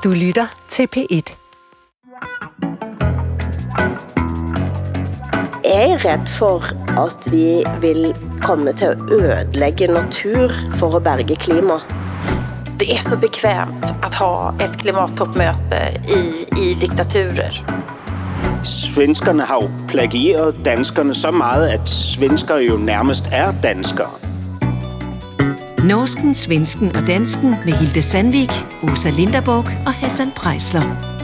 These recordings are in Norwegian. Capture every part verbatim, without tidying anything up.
Du lytter til P et. Jeg er redd for at vi vil komme til at ødelægge natur for at berge klima. Det är så bekvämt att ha ett klimattoppmöte i, i diktaturer. Svenskerne har jo plagieret danskerne så meget, at svensker jo nærmest er danskere. Norsken, svensken og dansken med Hilde Sandvik, Åsa Linderborg og Hassan Preisler.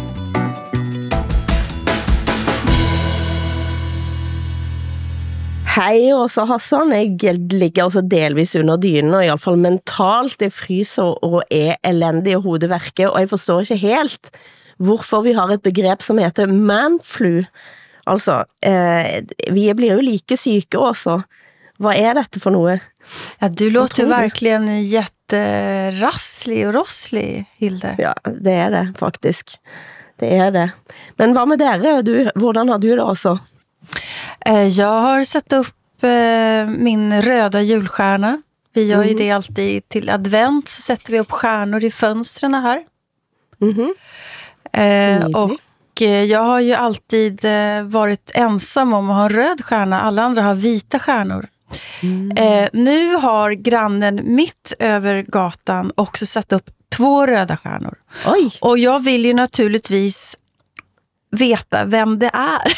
Hej Åsa Hassan, jeg ligger altså delvis under dynen, og i hvert fall mentalt, det fryser og er elendig i hovedværket, og jeg forstår ikke helt, hvorfor vi har et begreb som heter manflu. Altså, eh, vi blir jo like syke også. Vad är detta för något? Ja, du låter verkligen jätterasslig och rosslig, Hilde. Ja, det är det faktiskt. Det är det. Men vad med dere? Du, hvordan har du det också? Jag har satt upp min röda julstjärna. Vi gör ju det alltid till advent, så sätter vi upp stjärnor i fönstren här. Mhm. Eh, och jag har ju alltid varit ensam om att ha en röd stjärna. Alla andra har vita stjärnor. Mm. Eh, nu har grannen mitt över gatan också satt upp två röda stjärnor. Oj. Och jag vill ju naturligtvis veta vem det är.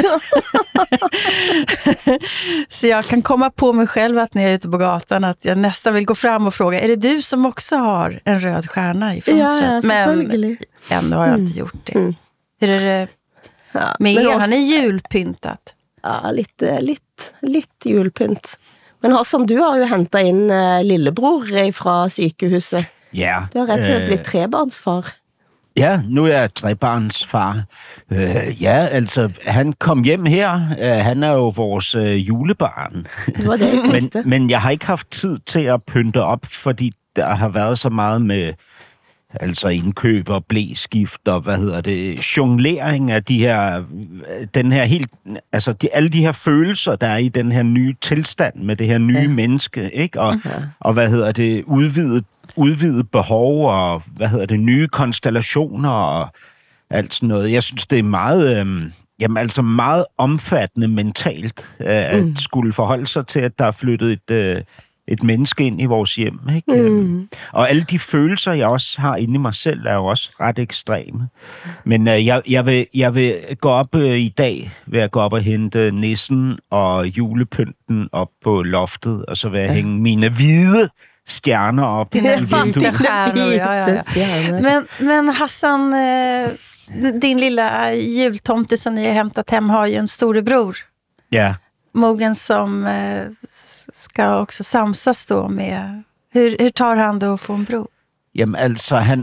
Så jag kan komma på mig själv att när jag är ute på gatan att jag nästan vill gå fram och fråga, är det du som också har en röd stjärna i fönstret? Ja, men ännu har jag inte gjort det. Mm. Hur är det ja, med er? Han är julpyntat. Ja, lite, lite, lite julpynt. Men Hassan, du har jo hentet in uh, lillebror fra sykehuset. Ja. Du har ret til at blive trebarnsfar. Ja, nu er jeg trebarnsfar. Uh, ja, altså, han kom hjem her. Uh, han er jo vores uh, julebarn. Det var det, men, men jeg har ikke haft tid til at pynte op, fordi der har været så meget med altså indkøb og blæskift og hvad hedder det, jonglering af de her, den her helt, altså de, alle de her følelser, der er i den her nye tilstand med det her nye ja. menneske, ikke? Og, okay. og hvad hedder det, udvidet, udvidet behov og hvad hedder det, nye konstellationer og alt sådan noget. Jeg synes, det er meget, øhm, jamen altså meget omfattende mentalt øh, at mm. skulle forholde sig til, at der er flyttet et øh, et menneske ind i vores hjem, ikke? Mm. Og alle de følelser, jeg også har inde i mig selv, er jo også ret ekstreme. Men uh, jeg, jeg, vil, jeg vil gå op uh, i dag, vil jeg gå op og hente nissen og julepynten op på loftet, og så vil jeg ja. hænge mine hvide stjerner op Dina i vinduet. Stjärnor, ja, ja, ja. Men, men Hassan, eh, din lilla jultomte som ni har hämtat hem har ju en storebror. Ja. Mogen som eh, ska också samsas då med... Hur, hur tar han då att få en bror? Jamen altså, han...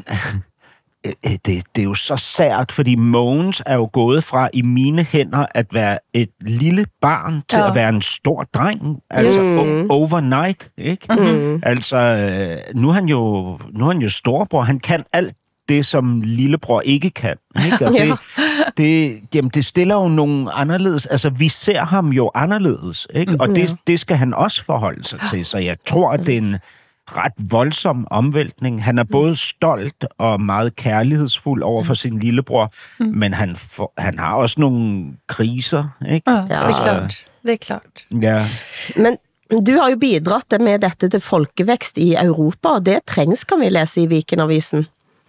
Det, det er jo så sært, fordi Mogens er jo gået fra i mine hænder at være et lille barn til ja. at være en stor dreng. Altså mm. overnight, ikke? Mm. Altså, nu er han jo, nu er han jo storebror. Han kan alt det, som lillebror ikke kan. Ikke? Og det, det, jamen, det stiller jo nogle anderledes... Altså, vi ser ham jo anderledes, ikke? Og det, det skal han også forholde sig til. Så jeg tror, at det er en ret voldsom omvæltning. Han er både stolt og meget kærlighedsfuld over for sin lillebror, mm. men han, for, han har også nogle kriser, ikke? Ja, det er klart. Det er klart. Ja. Men du har jo bidratt med dette til folkevækst i Europa, og det trængs, kan vi læse i Weekendavisen.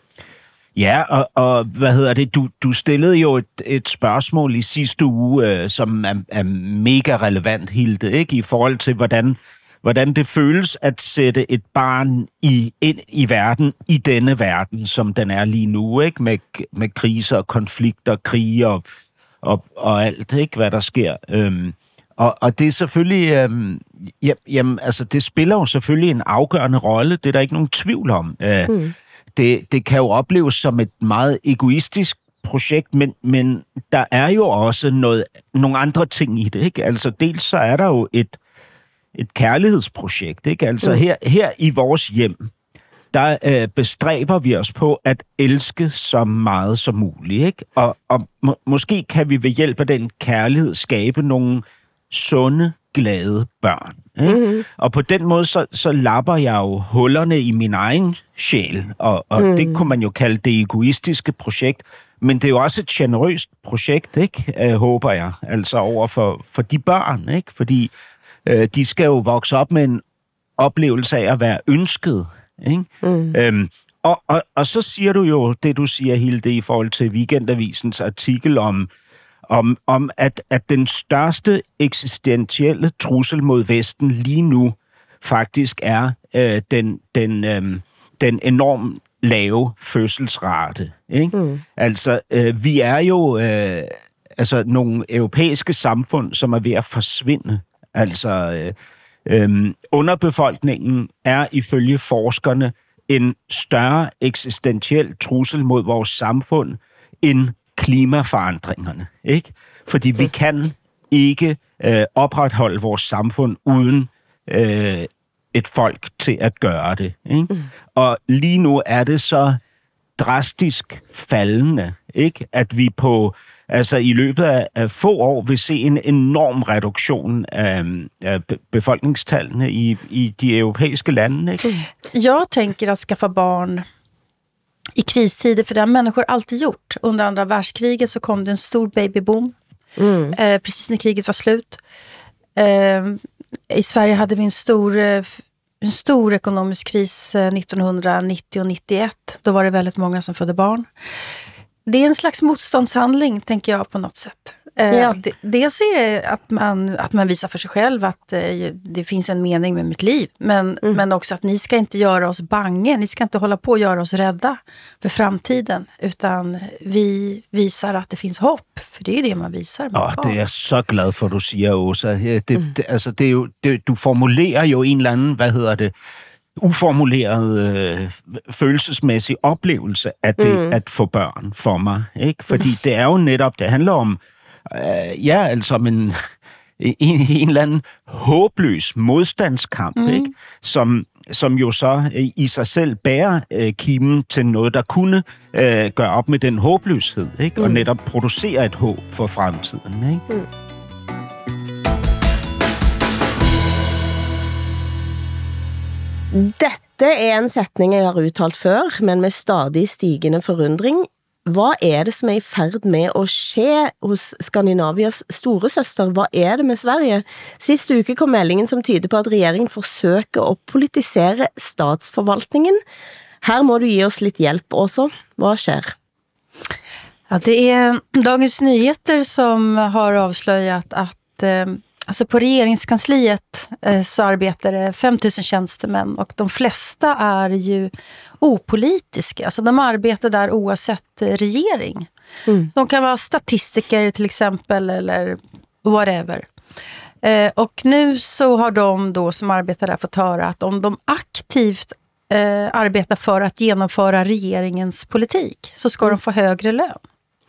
Ja, og, og hvad hedder det? Du, du stillede jo et, et spørgsmål i sidste uge, øh, som er, er mega relevant, Hilde, ikke? I forhold til, hvordan, hvordan det føles at sætte et barn i, ind i verden, i denne verden, som den er lige nu, ikke? Med, med kriser, konflikter, krige og, og, og alt, ikke? Hvad der sker. Øhm, og, og det er selvfølgelig... Øhm, jamen, altså, det spiller jo selvfølgelig en afgørende rolle, det er der ikke nogen tvivl om. Øh, mm. Det, det kan jo opleves som et meget egoistisk projekt, men, men der er jo også noget, nogle andre ting i det, ikke? Altså dels så er der jo et, et kærlighedsprojekt, ikke? Altså mm. her, her i vores hjem, der øh, bestræber vi os på at elske så meget som muligt, ikke? Og, og må, måske kan vi ved hjælp af den kærlighed skabe nogle sunde, glade børn, Ikke? Mm-hmm. Og på den måde, så, så lapper jeg jo hullerne i min egen sjæl, og, og mm. det kunne man jo kalde det egoistiske projekt. Men det er jo også et generøst projekt, ikke? Øh, håber jeg, altså over for, for de børn, ikke? Fordi øh, de skal jo vokse op med en oplevelse af at være ønsket, ikke? Mm. Øhm, og, og, og så siger du jo det, du siger, Hilde, i forhold til Weekendavisens artikel om, om, om at, at den største eksistentielle trussel mod Vesten lige nu faktisk er øh, den, den, øh, den enormt lave fødselsrate. Ikke? Mm. Altså, øh, vi er jo øh, altså, nogle europæiske samfund, som er ved at forsvinde. Altså, øh, øh, underbefolkningen er ifølge forskerne en større eksistentiel trussel mod vores samfund end klimaforandringerne. Ikke? Fordi vi kan ikke øh, opretholde vores samfund uden øh, et folk til at gøre det. Ikke? Mm. Og lige nu er det så drastisk faldende, ikke? At vi på altså i løbet af, af få år vil se en enorm reduktion af, af befolkningstallene i, i de europæiske lande. Ikke? Jag tänker att skaffa barn i kristider, för det har människor alltid gjort. Under andra världskriget så kom det en stor babyboom, mm. eh, precis när kriget var slut. Eh, I Sverige hade vi en stor, en stor ekonomisk kris nittonhundranittio och nittioett. Då var det väldigt många som födde barn. Det är en slags motståndshandling, tänker jag, på något sätt. Ja. Eh, dels är det att man, att man visar för sig själv att eh, det finns en mening med mitt liv. Men, mm. men också att ni ska inte göra oss bange. Ni ska inte hålla på att göra oss rädda för framtiden. Utan vi visar att det finns hopp. För det är det man visar. Ja, det er jeg så glad for, du siger, Åsa. Det, mm. det, altså, det er jo, det, du formulerer jo en eller anden, hvad hedder det, uformuleret øh, følelsesmæssig oplevelse af det mm. at få børn for mig. Ikke? Fordi det er jo netop, det handler om, øh, ja, altså om en, en, en eller anden håbløs modstandskamp, mm. ikke? Som, som jo så øh, i sig selv bærer øh, kimen til noget, der kunne øh, gøre op med den håbløshed, ikke? Mm. Og netop producere et håb for fremtiden. Ikke? Mm. Dette er en setning jeg har uttalt før, men med stadig stigende forundring. Hvad er det, som er i færd med at ske hos Skandinavias store søster? Hvad er det med Sverige? Sidste uke kom meldingen, som tyder på, at regeringen forsøger at politisere statsforvaltningen. Her må du give os lidt hjælp også. Hvad sker? Ja, det är Dagens Nyheter som har avslöjat att eh, alltså på regeringskansliet eh, så arbetar det fem tusen tjänstemän och de flesta är ju opolitiska. Alltså de arbetar där oavsett eh, regering. Mm. De kan vara statistiker till exempel eller whatever. Eh, och nu så har de då som arbetar där fått höra att om de aktivt eh, arbetar för att genomföra regeringens politik så ska mm. de få högre lön.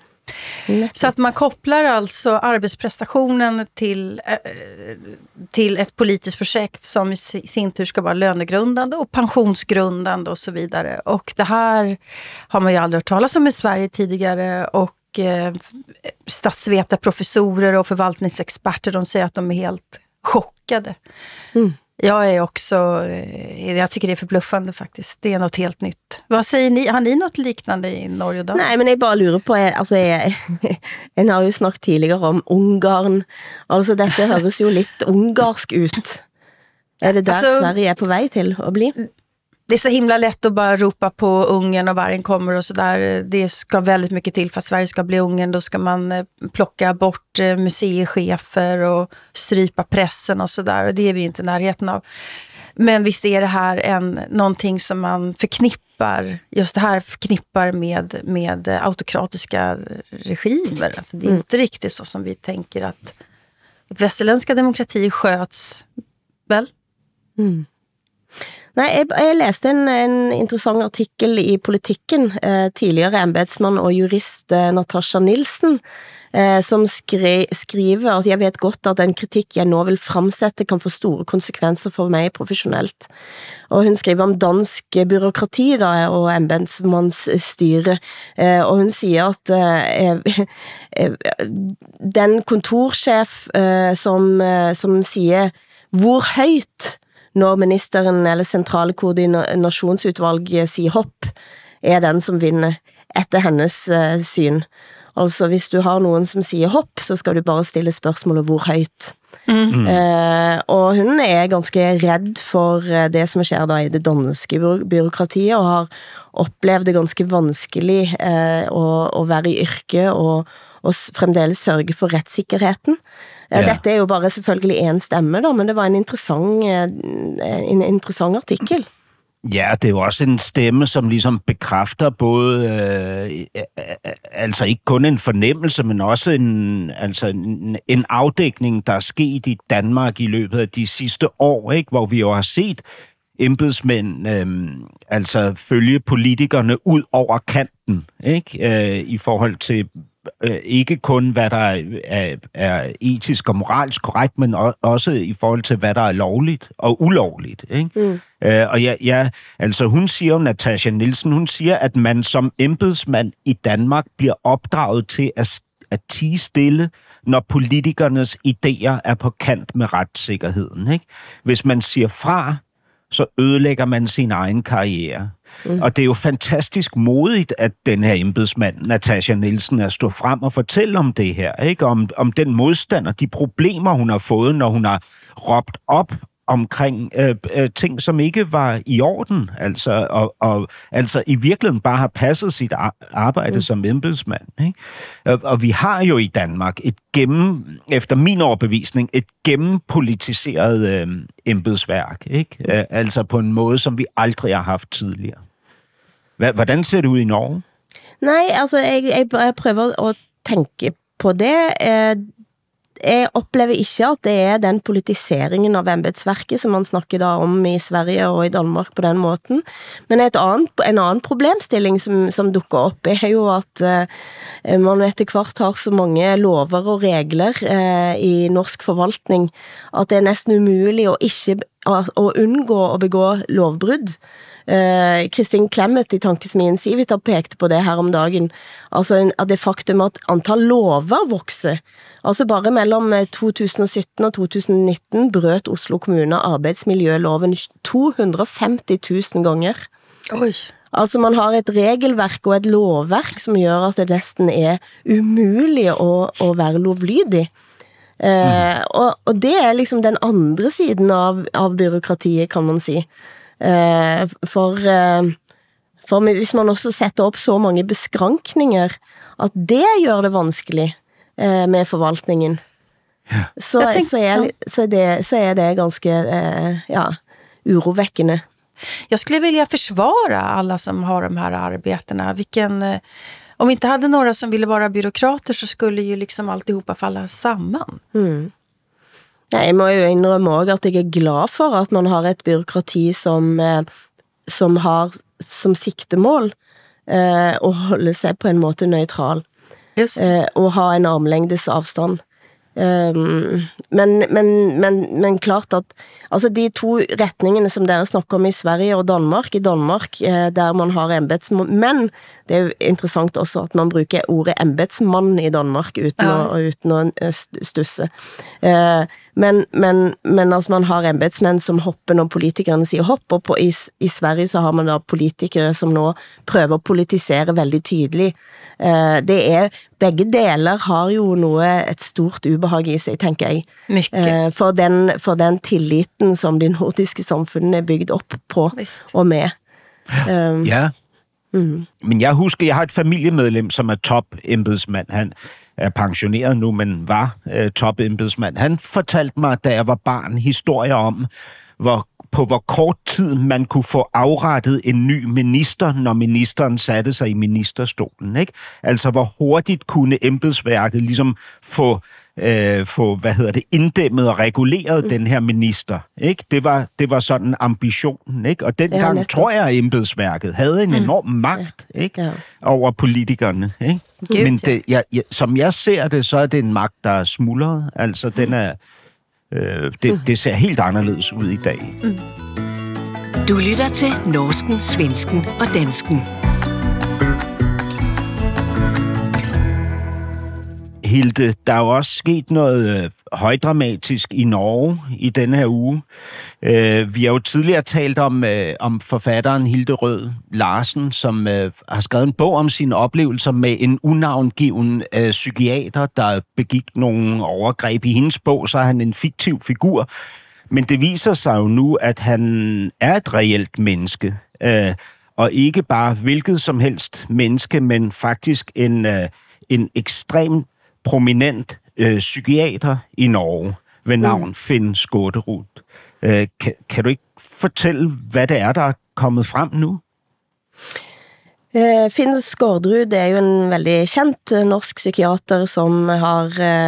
Mm. Så att man kopplar alltså arbetsprestationen till, eh, till ett politiskt projekt som i sin tur ska vara lönegrundande och pensionsgrundande och så vidare. Och det här har man ju aldrig hört talas om i Sverige tidigare och eh, statsvetarprofessorer och förvaltningsexperter, de säger att de är helt chockade. Mm. Jag är också, jag tycker det är förbluffande faktiskt. Det är något helt nytt. Vad säger ni? Har ni något liknande i Norge då? Nej, men jeg bare lurer på, jeg, altså jeg, en har jo snakket tidligere om Ungarn. Altså dette høres jo lidt ungarsk ut. Er det der altså, Sverige er på vej til at bli? Det är så himla lätt att bara ropa på Ungern och vargen kommer och så där. Det ska väldigt mycket till för att Sverige ska bli Ungern. Då ska man plocka bort museichefer och strypa pressen och så där. Och det är vi ju inte i närheten av. Men visst är det här en, någonting som man förknippar, just det här förknippar med, med autokratiska regimer. Alltså det är mm. inte riktigt så som vi tänker att, att västerländska demokratier sköts väl? Mm. Nej, jeg, jeg læste en, en interessant artikel i Politikken, eh, tidligere embedsmann og jurist eh, Natasha Nielsen, eh, som skri, skriver at jeg vet godt at den kritik jeg nå vil fremsætte kan få store konsekvenser for meg professionelt. Og hun skriver om dansk byråkrati da, og embedsmannsstyre, eh, og hun siger at eh, eh, den kontorchef eh, som, eh, som siger hvor højt, når ministeren eller centrale koordinationsudvalget siger hopp, er den som vinner etter hennes uh, syn. Altså, hvis du har nogen, som siger hopp, så skal du bare stille spørgsmålet hvor højt. Mm. Uh, og hun er ganske redd for uh, det som sker da i det danske byråkratiet, og har opplevd det ganske vanskelig uh, å, å være i yrke og, og fremdeles sørge for rettssikkerheten. Uh, ja. Dette er jo bare selvfølgelig en stemme da, men det var en interessant, uh, en interessant artikel. Ja, det er jo også en stemme, som ligesom bekræfter både, øh, altså ikke kun en fornemmelse, men også en, altså en, en afdækning, der er sket i Danmark i løbet af de sidste år, ikke? Hvor vi jo har set embedsmænd øh, altså følge politikerne ud over kanten, ikke? Øh, i forhold til øh, ikke kun, hvad der er, er etisk og moralsk korrekt, men også i forhold til, hvad der er lovligt og ulovligt, ikke? Mm. Øh, og ja, ja, altså hun siger jo, Natasha Nielsen, hun siger, at man som embedsmand i Danmark bliver opdraget til at, at tie stille, når politikernes idéer er på kant med retssikkerheden, ikke? Hvis man siger fra, så ødelægger man sin egen karriere. Mm. Og det er jo fantastisk modigt, at den her embedsmand, Natasha Nielsen, er stået frem og fortælle om det her, ikke? Om, om den modstand og de problemer, hun har fået, når hun har råbt op omkring øh, øh, ting, som ikke var i orden, altså, og, og altså i virkeligheden bare har passet sit arbejde mm. som embedsmand, ikke? Og, og vi har jo i Danmark et gennem, efter min overbevisning, et gennempolitiseret øh, embedsværk, ikke? Øh, altså på en måde, som vi aldrig har haft tidligere. Hva, hvordan ser det ud i Norge? Nej, altså jeg, jeg, jeg prøver at tænke på det. Eh, Jeg oplever ikke, at det er den politiseringen av embedsverket, som man snakker da om i Sverige og i Danmark på den måten. Men et annet, en anden problemstilling, som, som dukker op, er jo, at uh, man etter hvert har så mange lover og regler uh, i norsk forvaltning, at det er næsten umuligt at, ikke, at, at undgå at begå lovbrud. Uh, Kristin Clemet i Tankesmien Civita pekte på det her om dagen, altså en, at det faktum at antall lover vokser. Altså bare mellom to tusind og sytten og to tusind og nitten brøt Oslo Kommune arbeidsmiljøloven to hundrede og femti tusind ganger. Oi. Altså man har et regelverk og et lovverk som gør at det næsten er umuligt at, at være lovlydig. Uh, mm. og, og det er liksom den andre siden av, av byråkratiet, kan man si. Uh, for, uh, for hvis man også setter op så mange beskrankninger, at det gør det vanskelig uh, med forvaltningen, ja. så, tænker, så, er, ja. så, det, så er det ganske uh, ja, uroväckande. Jag skulle vilja försvara alla som har de här arbetena. Vilken, uh, om vi inte hade några som ville vara byråkrater så skulle ju liksom alltihopa falla samman. Mm. Nej, jeg må jo indrømme også, at jeg er glad for, at man har et byråkrati, som, eh, som har som sigtemål eh, at holde sig på en måte neutral. Just eh, og ha en armlængdes afstand. Um, men, men, men, men klart at altså de to retningene som dere snakker om i Sverige og Danmark, i Danmark eh, der man har embedsmenn, det er jo interessant også at man bruker ordet embedsmann i Danmark uten, ja. å, uten å stusse. Eh, men, men, men altså man har embedsmenn som hopper når politikerne sier hopp, og på, i, i Sverige så har man da politikere som nå prøver å politisere veldig tydelig. Eh, det er, begge deler har jo noe, et stort ubehag i sig, tenker jeg. Eh, for, den, for den tilliten som de nordiske samfunnene er bygget op på Vist. Og med. Um, ja, mm. men jeg husker, jeg har et familiemedlem, som er top-embedsmand. Han er pensioneret nu, men var uh, top-embedsmand. Han fortalte mig, da jeg var barn, historier om, hvor på hvor kort tid man kunne få afrettet en ny minister, når ministeren satte sig i ministerstolen, ikke? Altså, hvor hurtigt kunne embedsværket ligesom få, øh, få hvad hedder det, inddæmmet og reguleret mm. den her minister, ikke? Det var, det var sådan ambitionen, ikke? Og dengang ja, tror jeg, at embedsværket havde en enorm mm. magt, ikke? Ja. Over politikerne, ikke? Gud, Men det, jeg, jeg, som jeg ser det, så er det en magt, der er smuldret. Altså, mm. den er... Øh, det, det ser helt anderledes ud i dag. Mm. Du lytter til norsken, svensken og dansken. Hilde, der er jo også sket noget øh, højdramatisk i Norge i denne her uge. Øh, vi har jo tidligere talt om, øh, om forfatteren Hilde Rød Larsen, som øh, har skrevet en bog om sine oplevelser med en unavngiven øh, psykiater, der begik nogle overgreb. I hendes bog, så er han en fiktiv figur. Men det viser sig jo nu, at han er et reelt menneske. Øh, og ikke bare hvilket som helst menneske, men faktisk en, øh, en ekstreem prominent øh, psykiater i Norge ved navn mm. Finn Skårderud. Øh, kan, kan du ikke fortælle, hvad det er, der er kommet frem nu? Uh, Finn Skårderud er jo en veldig kendt uh, norsk psykiater, som har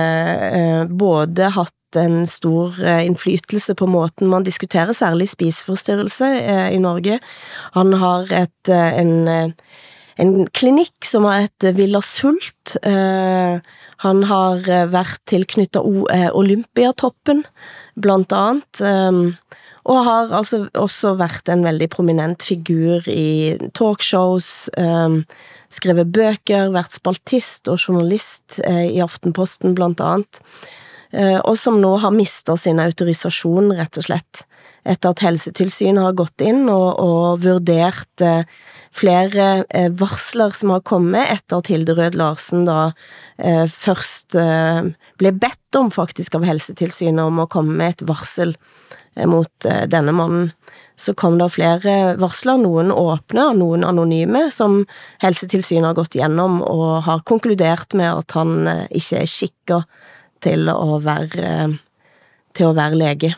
uh, uh, både hatt en stor uh, indflytelse på måten man diskuterer, særlig spiseforstyrrelse uh, i Norge. Han har et, uh, en, uh, en klinikk som har et Villa Sult. Uh, han har uh, vært tilknyttet o- uh, Olympiatoppen, blant annet. Um, Og har altså også vært en veldig prominent figur i talkshows, um, skrevet bøker, vært spaltist og journalist uh, i Aftenposten blant annet, uh, og som nå har mistet sin autorisasjon rett og slett, etter at Helsetilsynet har gått inn og, og vurdert uh, flere uh, varsler som har kommet etter at Hilde Rød Larsen da uh, først uh, ble bedt om faktisk av Helsetilsynet om å komme med et varsel mot uh, denne mannen. Så kom det flere varsler, noen åpne og noen anonyme, som Helsetilsynet har gått gjennom og har konkludert med at han uh, ikke er skikket til å være, uh, til å være lege.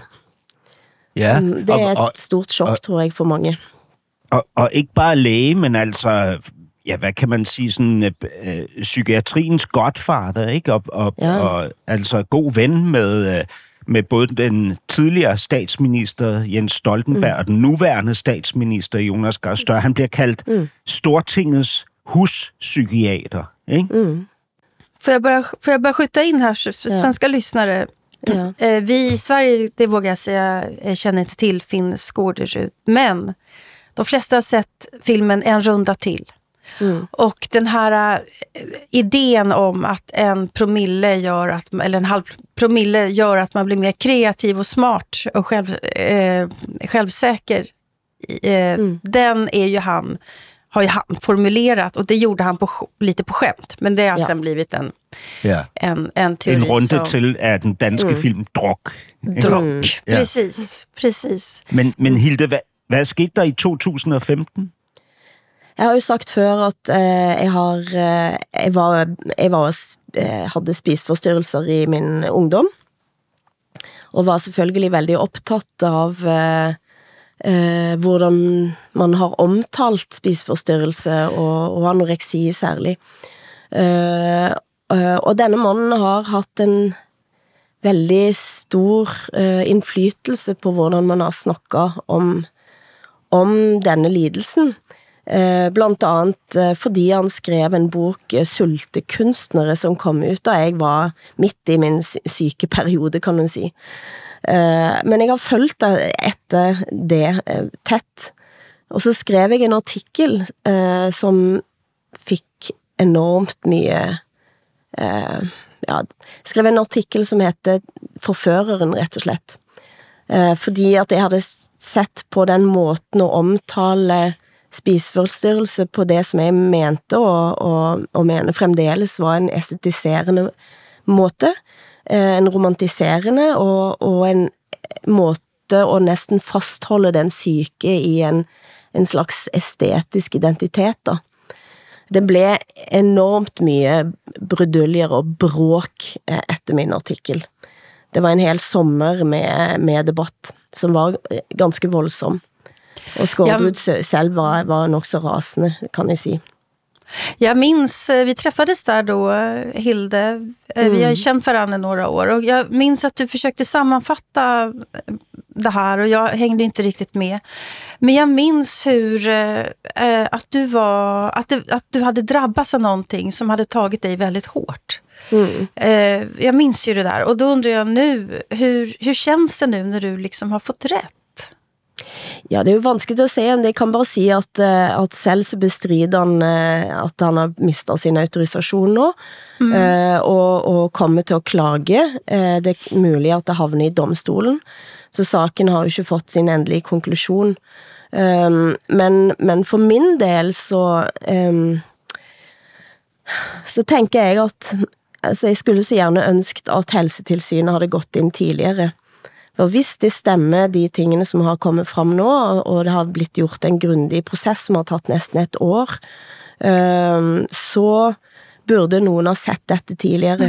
Ja, det er et og, og, stort sjokk, og, tror jeg, for mange. Og, og ikke bare læge, men altså, ja, hvad kan man sige, sådan øh, psykiatriens godfather, ikke? Og, og, ja. og altså god ven med... Øh, med både den tidligere statsminister Jens Stoltenberg mm. og den nuværende statsminister Jonas Gahr Støre. Han bliver kaldt mm. Stortingets huspsykiater, ikke? Mm. Får jag bara, får jag bara skjuta in här för svenska ja. lyssnare? Ja. Vi i Sverige, det vågar jag säga, känner inte till Finn Skårderud. Men de flesta har sett filmen En runda till. Mm. Och den här äh, idén om att en promille gör att, eller en halv promille gör att man blir mer kreativ och smart och själv, äh, självsäker, äh, mm. den är ju han, har ju han formulerat, och det gjorde han på, lite på skämt, men det har ja. sen blivit en, ja. en, en teori. En runde som, till är den danske mm. film Druk. Druk, mm. precis, ja. precis. Men, men Hilde, hvad, hvad skete der i to tusind og femten? Jeg har jo sagt før at eh, jeg, har, eh, jeg, var, jeg var, eh, hadde spiseforstyrrelser i min ungdom, og var selvfølgelig veldig opptatt av eh, eh, hvordan man har omtalt spiseforstyrrelse og, og anoreksi særlig. Eh, og denne mannen har hatt en veldig stor eh, innflytelse på hvordan man har snakket om, om denne lidelsen. Eh, blant annet eh, fordi han skrev en bok eh, Sultekunstnere som kom ut da jeg var midt i min sykeperiode, kan man si. Eh, men jeg har fulgt det etter det eh, tett. Og så skrev jeg en artikkel eh, som fikk enormt mye eh, ja, skrev en artikkel som heter Forføreren, rett og slett. Eh, fordi at jeg hadde sett på den måten å omtale spiseforstyrrelse på det som jeg mente og, og, og mener fremdeles var en estetiserende måte, en romantiserende og, og en måte å nesten fastholde den syke i en, en slags estetisk identitet da. Det ble enormt mye bruduljer og bråk etter min artikkel. Det var en hel sommer med, med debatt som var ganske voldsom. Och Skårderud ja, själv var, var nog så rasande, kan jag säga. Jag minns, vi träffades där då, Hilde. Mm. Vi har känt varandra några år. Och jag minns att du försökte sammanfatta det här. Och jag hängde inte riktigt med. Men jag minns hur äh, att, du var, att, det, att du hade drabbats av någonting som hade tagit dig väldigt hårt. Mm. Äh, jag minns ju det där. Och då undrar jag nu, hur, hur känns det nu när du liksom har fått rätt? Ja, det er jo vanskelig å si, men jeg kan bare si at, at selv så bestrider han at han har mistet sin autorisasjon nå, mm. og, og kommer til å klage. Det er mulig at det havner i domstolen, så saken har jo ikke fått sin endelige konklusjon. Men, men for min del så, så tenker jeg at altså jeg skulle så gjerne ønsket at Helsetilsynet hadde gått inn tidligere. For hvis det stemmer de tingene som har kommet fram nå, og det har blitt gjort en grundig prosess som har tatt nesten et år, så burde noen ha sett dette tidligere.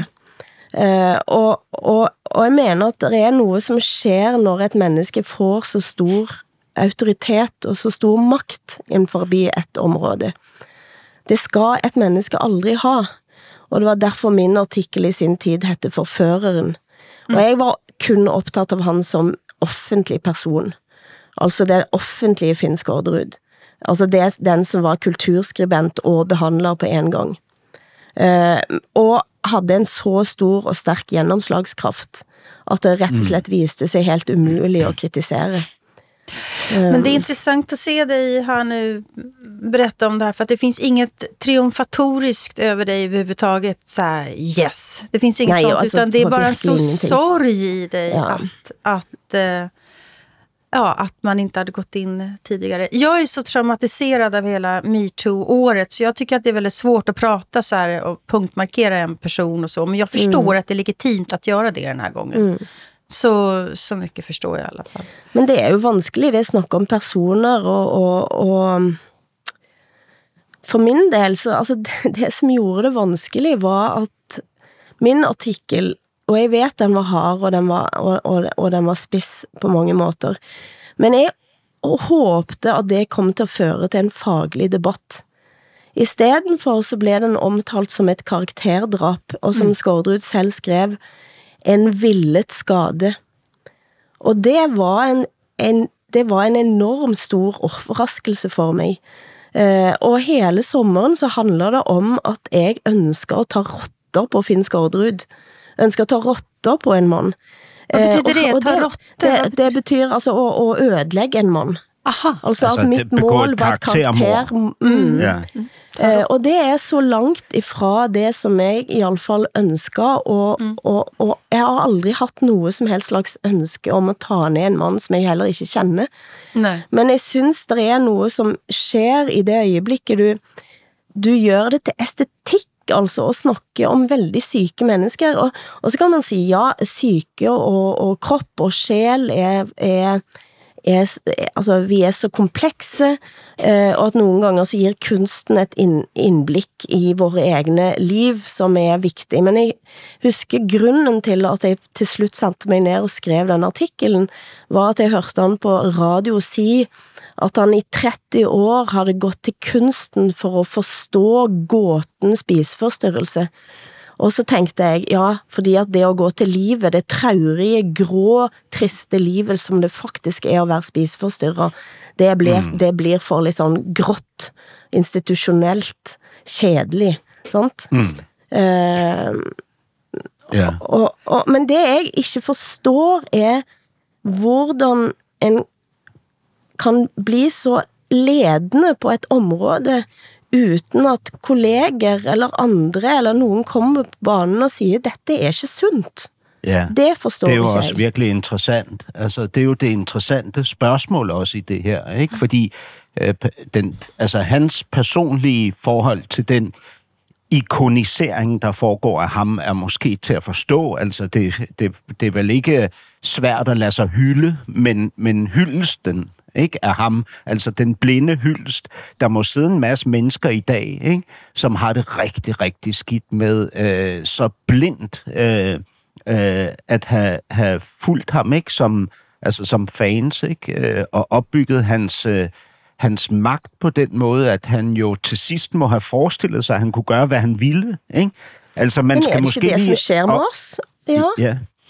Og, og, og jeg mener at det er noe som skjer når et menneske får så stor autoritet og så stor makt innenfor et område. Det skal et menneske aldri ha. Og det var derfor min artikkel i sin tid hette Forføreren. Og jeg var kun opptatt av han som offentlig person. Altså det offentlige Finn Skårderud. Altså det, den som var kulturskribent og behandler på en gang. Eh, og hadde en så stor og sterk gjennomslagskraft at det rett og slett viste sig helt umulig å kritisere. Men det är intressant att se dig här nu berätta om det här, för att det finns inget triumfatoriskt över dig överhuvudtaget så här, yes. Det finns inget Nej, sånt, alltså, utan det är bara en stor ingenting. sorg i dig ja. att, att, uh, ja, att man inte hade gått in tidigare. Jag är så traumatiserad av hela MeToo-året, så jag tycker att det är väldigt svårt att prata så här och punktmarkera en person och så, men jag förstår mm. att det är legitimt att göra det den här gången. Mm. Så, så mycket förstår jag i alla fall. Men det är ju vanskligt, det snackar om personer och, och, och för min del så, alltså det, det som gjorde det vanskligt var att min artikel, och jag vet den var hard och den var, och, och, och den var spiss på många måter, men jag hoppade att det kom till att föra till en faglig debatt. I stedet for så blev den omtalt som ett karakterdrap, och som mm. Skårderud selv skrev, en villet skade. Og det var en, en, det var en enorm stor overraskelse for mig. Eh, og hele sommeren så handler det om at jeg ønsker å ta rotter på Finn Skårderud. Ønsker å ta rotter på en mann. Hva betyder det? Ta rotter? Det, det, det betyr altså å, å ødelegge en mann. Aha. Altså, altså at mitt mål var karakter. Mm. Ja. Eh, og det er så langt ifra det som jeg i alle fall ønsker, og, mm. og, og jeg har aldri hatt noe som helst slags ønske om å ta ned en mann som jeg heller ikke kjenner. Nei. Men jeg synes det er noe som skjer i det øyeblikket du, du gjør det til estetikk, altså å snakke om veldig syke mennesker, og, og så kan man si ja, syke og, og kropp og sjel er, er Er, altså, vi er så komplekse, eh, og at noen ganger så gir kunsten et inn, innblikk i våre egne liv som er viktig. Men jeg husker grunnen til at jeg til slutt satte meg ned og skrev den artikkelen, var at jeg hørte han på radio si at han i tretti år hadde gått til kunsten for å forstå gåten spiseforstyrrelse. Og så tenkte jeg, ja, fordi at det å gå til livet, det traurige, grå, triste livet som det faktisk er å være spiseforstyrret, det blir, mm. det blir for litt sånn grått, institusjonelt, kjedelig, sant? Mm. Uh, yeah. og, og, men det jeg ikke forstår er hvordan en kan bli så ledende på et område uten at kolleger eller andre eller noen kommer på banen og sier dette er ikke sunt. Ja, det forstår det er jo ikke også jeg. virkelig interessant. Altså, det er jo det interessante spørgsmål også i det her, ikke? Fordi øh, den, altså, hans personlige forhold til den ikonisering, der foregår af ham, er måske til at forstå. Altså, det, det, det er vel ikke svært at lade sig hylde, men, men hyldelsen, ikke, af ham, altså den blinde hyldest. Der må sidde en masse mennesker i dag, ikke, som har det rigtig, rigtig skidt med øh, så blindt øh, øh, at have, have fulgt ham, ikke, som, altså, som fans, ikke, øh, og opbygget hans, øh, hans magt på den måde, at han jo til sidst må have forestillet sig, at han kunne gøre, hvad han ville. Ikke? Altså, man Men skal er det måske ikke det, lige... som sker med os? Ja. ja.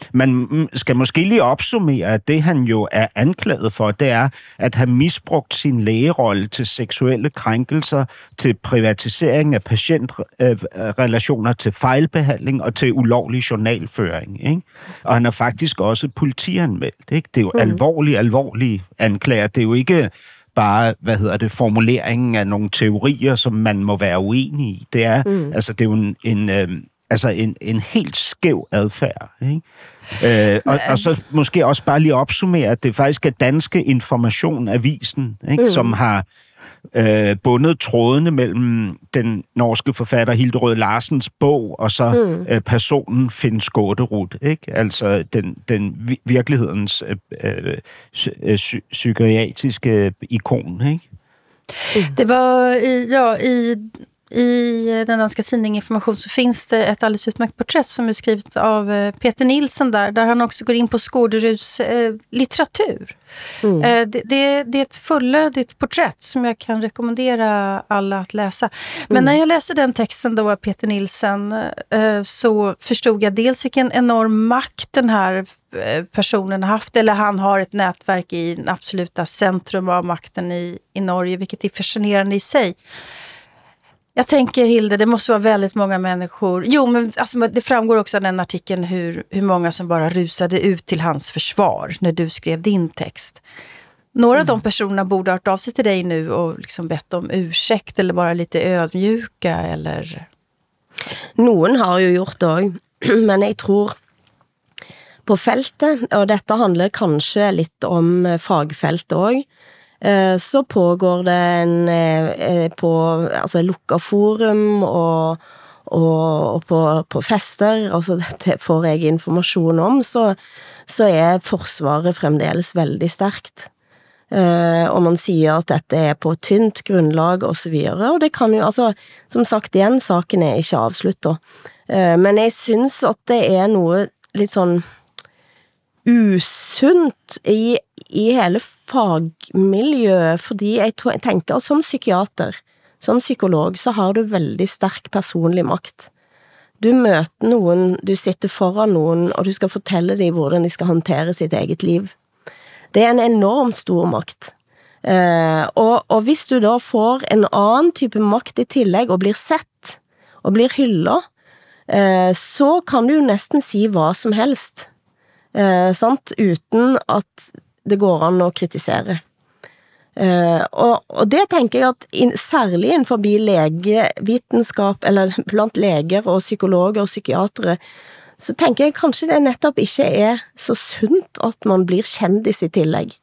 man skal måske lige opsummere, at det han jo er anklaget for, det er at have misbrugt sin lægerolle til seksuelle krænkelser, til privatisering af patientrelationer, til fejlbehandling og til ulovlig journalføring. Ikke? Og han er faktisk også politianmeldt. Ikke? Det er jo mm. alvorlige, alvorlige anklager. Det er jo ikke bare, hvad hedder det, formuleringen af nogle teorier, som man må være uenig i. Det er, mm. altså, det er jo en, en, øh, altså en, en helt skæv adfærd. Ikke? Øh, og, og så måske også bare lige opsummere, at det faktisk er Danske Information Avisen, ikke? Mm. som har øh, bundet trådene mellem den norske forfatter Hilde Rød Larsens bog og så mm. øh, personen Finn Skårderud, ikke? Altså den, den virkelighedens øh, øh, psy- psykiatriske ikon, ikke? Mm. Det var i, ja, i I den danska tidningen Information så finns det ett alldeles utmärkt porträtt som är skrivet av Peter Nilsson där, där han också går in på Skåderuds eh, litteratur. Mm. Eh, det, det, det är ett fullödigt porträtt som jag kan rekommendera alla att läsa. Men mm. när jag läste den texten då av Peter Nilsson eh, så förstod jag dels vilken enorm makt den här personen har haft, eller han har ett nätverk i den absoluta centrum av makten i, i Norge, vilket är fascinerande i sig. Jag tänker, Hilde, det måste vara väldigt många människor. Jo, men alltså, det framgår också av den artikeln hur, hur många som bara rusade ut till hans försvar när du skrev din text. Några mm. av de personerna borde ha hört av sig till dig nu och liksom bett om ursäkt eller bara lite ödmjuka, eller? Noen har jo gjort det også, men jeg tror på feltet, og dette handler kanskje litt om fagfeltet også, så pågår det en på altså lukka forum og, og, og på, på fester, altså det får jeg informasjon om, så, så er forsvaret fremdeles veldig sterkt. Og man sier at dette er på tynt grunnlag og så videre, og det kan jo, altså, som sagt igjen, saken er ikke avsluttet. Men jeg synes at det er noe litt sånn usunt i, i hele fagmiljøet, fordi jeg, tror, jeg tenker som psykiater, som psykolog, så har du veldig sterk personlig makt. Du møter noen, du sitter foran noen, og du skal fortelle dem hvordan de skal håndtere sitt eget liv. Det er en enormt stor makt. Eh, og, og hvis du da får en annen type makt i tillegg, og blir sett, og blir hyllet, eh, så kan du jo nesten si hva som helst. Eh, sant? Uten at det går an å kritisere. Eh, og, og det tenker jeg at in, særlig innenfor legevitenskap, eller blant leger og psykologer og psykiatere, så tenker jeg kanskje det nettopp ikke er så sunt at man blir kjendis i tillegg.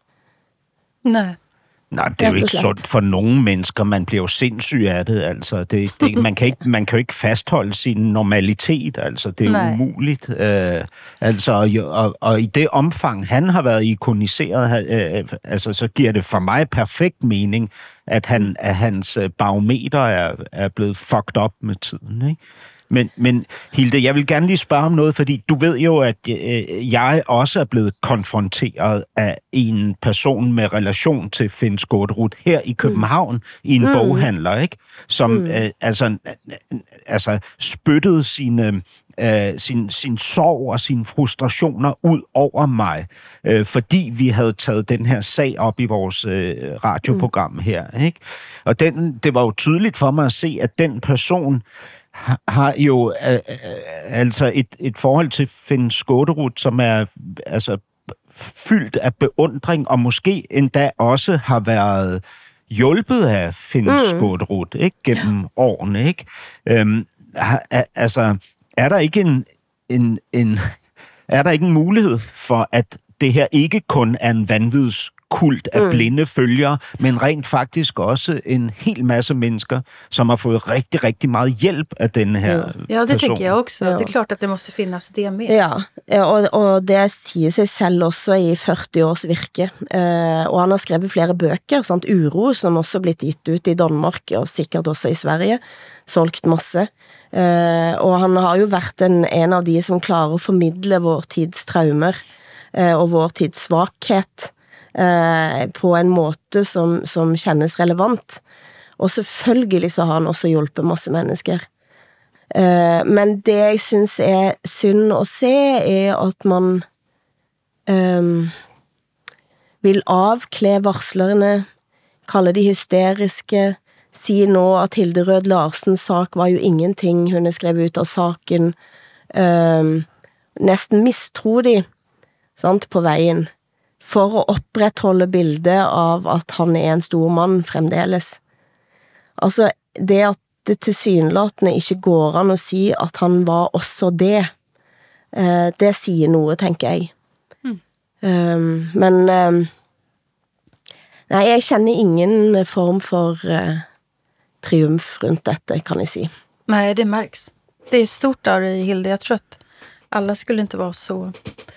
Nej. Nej, det er jo ikke sundt for nogle mennesker. Man bliver jo sindssyg af det. Altså, det, det, man, kan ikke, man kan jo ikke fastholde sin normalitet. Altså, det er Nej. umuligt. Øh, altså, og, og, og i det omfang, han har været ikoniseret, øh, altså, så giver det for mig perfekt mening, at, han, at hans barometer er, er blevet fucked up med tiden, ikke? Men, men Hilde, jeg vil gerne lige spørge om noget, fordi du ved jo, at øh, jeg også er blevet konfronteret af en person med relation til Finn Skårderud her i København, mm. i en mm. boghandler, ikke? Som mm. øh, altså, altså spyttede sine, øh, sin, sin sorg og sine frustrationer ud over mig, øh, fordi vi havde taget den her sag op i vores øh, radioprogram mm. her, ikke? Og den, det var jo tydeligt for mig at se, at den person har jo øh, altså et, et forhold til Finn Skårderud, som er altså fyldt af beundring, og måske endda også har været hjulpet af Finn mm. Skårderud, ikke, gennem ja. årene, ikke? Øhm, altså, er der ikke en, en, en er der ikke en mulighed for, at det her ikke kun er en vanvidskult af mm. blinde følgere, men rent faktisk også en hel masse mennesker, som har fået rigtig, rigtig meget hjälp af den her ja. person. Ja, det tycker jag också. Ja. Det är klart att det måste finnas det med. Ja, og, og det sier sig selv også i fyrti års virke. Uh, og han har skrevet flere bøker, sant? Uro, som også er blitt gitt ut i Danmark, og sikkert også i Sverige, solgt masse. Uh, og han har jo vært en, en av de som klarer å formidle vår tids traumer, uh, og vår tids svakhet, Eh, på en måte som, som kjennes relevant. Og selvfølgelig så har han også hjulpet masse mennesker. Uh, men det jeg synes er synd å se er at man um, vil avkle varslerne, kalle de hysteriske, si nå at Hilde Rød Larsens sak var jo ingenting, hun er skrevet ut av saken, um, nesten mistro de, sant, på veien, for å opprettholde bildet av at han er en stor mann fremdeles. Altså, det at det tilsynelatende ikke går an å si at han var også det, eh, det sier noe, tenker jeg. Mm. Um, men um, nei, jeg kjenner ingen form for uh, triumf rundt dette, kan jeg si. Nej, det märks. Det är stort där i Hilde. Jag tror att alla skulle inte vara så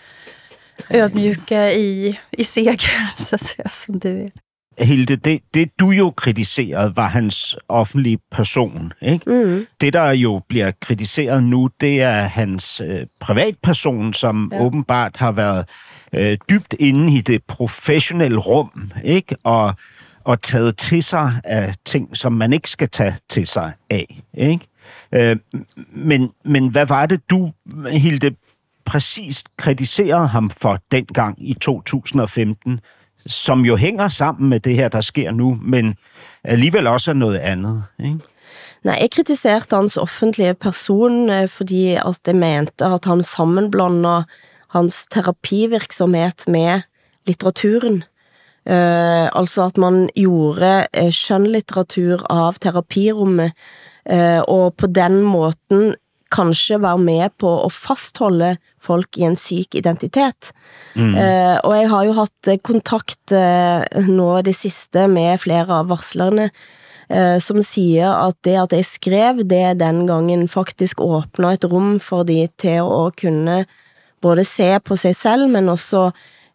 ödmjuka i, i seger, så att säga, som du är. Hilde, det, det du jo kritiserede, var hans offentlige person, ikke? Mm. Det, der jo bliver kritiseret nu, det er hans øh, privatperson, som ja. åbenbart har været øh, dybt inde i det professionelle rum, ikke? Og, og taget til sig af ting, som man ikke skal tage til sig af, ikke? Øh, men, men hvad var det, du, Hilde, præcist kritiserede ham for dengang i to tusind og femten, som jo hænger sammen med det her, der sker nu, men alligevel også er noget andet, ikke? Nej, jeg kritiserte hans offentlige person, fordi at jeg mente at han sammenblander hans terapivirksomhet med litteraturen. Uh, altså at man gjorde uh, skjønnlitteratur av terapirummet, uh, og på den måten kanskje være med på å fastholde folk i en syk identitet. Mm. Uh, og jeg har jo hatt kontakt uh, nå det siste med flere av varslerne, uh, som sier at det at jeg skrev det den gangen faktisk åpnet et rom for de til å kunne både se på seg selv, men også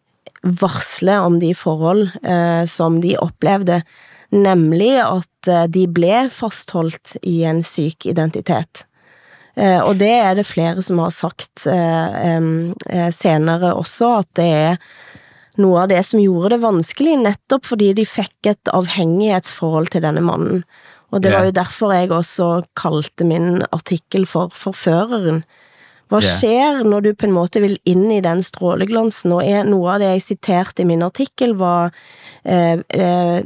varsle om de forhold uh, som de opplevde, nemlig at uh, de ble fastholdt i en syk identitet. Uh, og det er det flere som har sagt uh, um, uh, senere også, at det er noe av det som gjorde det vanskelig, nettopp fordi de fikk et avhengighetsforhold til denne mannen. Og det yeah. var jo derfor jeg også kalte min artikkel for Forføreren. Hva yeah. skjer når du på en måte vil inn i den stråleglansen? Og er noe av det jeg siterte i min artikkel var uh, uh,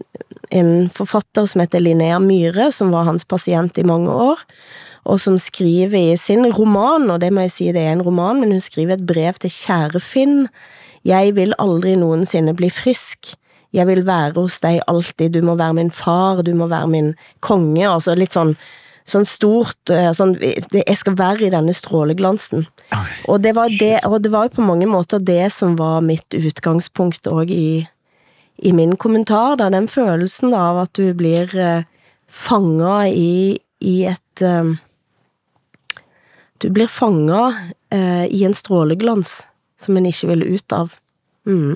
en forfatter som heter Linnea Myhre, som var hans pasient i mange år, og som skriver i sin roman, og det må jeg si det er en roman, men hun skriver et brev til kjære Finn. Jeg vil aldri noensinne bli frisk. Jeg vil være hos deg alltid. Du må være min far, du må være min konge. Altså litt sånn, sånn stort, sånn, jeg skal være i denne stråleglansen. Og det var, det, og det var jo på mange måter det som var mitt utgangspunkt også i, i min kommentar, da, den følelsen av at du blir uh, fanget i, i et... Uh, Du blir fanget uh, i en stråleglans som en ikke vil ut av. Mm.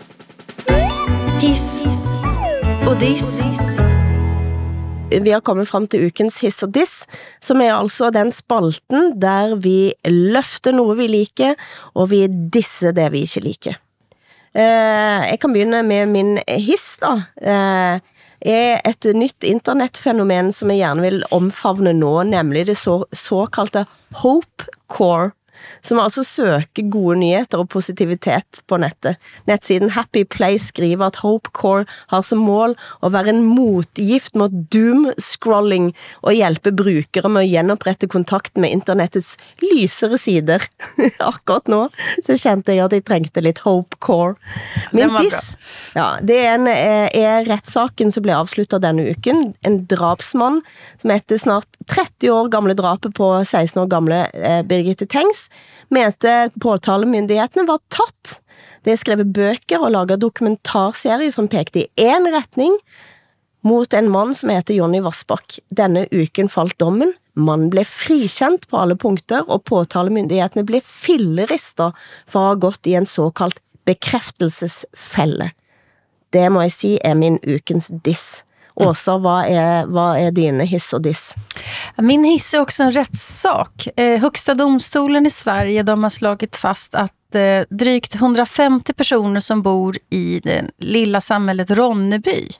Hiss og diss. Vi har kommet frem til ukens hiss og diss, som er altså den spalten der vi løfter noe vi liker, og vi disser det vi ikke liker. Uh, jeg kan begynne med min hiss da. Uh, er et nytt internettfenomen som jeg gjerne vil omfavne nå, nemlig det så, såkalte Hopecore, som altså søker gode nyheter og positivitet på nettet. Nettsiden Happy Place skriver at Hopecore har som mål å være en motgift mot doom-scrolling og hjelpe brukere med å gjenopprette kontakten med internettets lysere sider. Akkurat nå så kjente jeg at jeg trengte litt Hopecore. Min diss, ja, det er, en, er rettssaken som ble avsluttet denne uken. En drapsmann som etter snart tretti år gamle drapet på seksten år gamle eh, Birgitte Tengs mente påtalemyndighetene var tatt. Det er skrevet bøker og laget dokumentarserie som pekte i en retning mot en mann som heter Jonny Vassbakk. Denne uken falt dommen. Mannen ble frikjent på alle punkter, og påtalemyndighetene ble filleristet for å ha gått i en såkalt bekreftelsesfelle. Det må jeg si er min ukens diss. Åsa, vad är, vad är din hiss och diss? Min hiss är också en rättssak. Eh, Högsta domstolen i Sverige, de har slagit fast att eh, drygt hundrafemtio personer som bor i det lilla samhället Ronneby,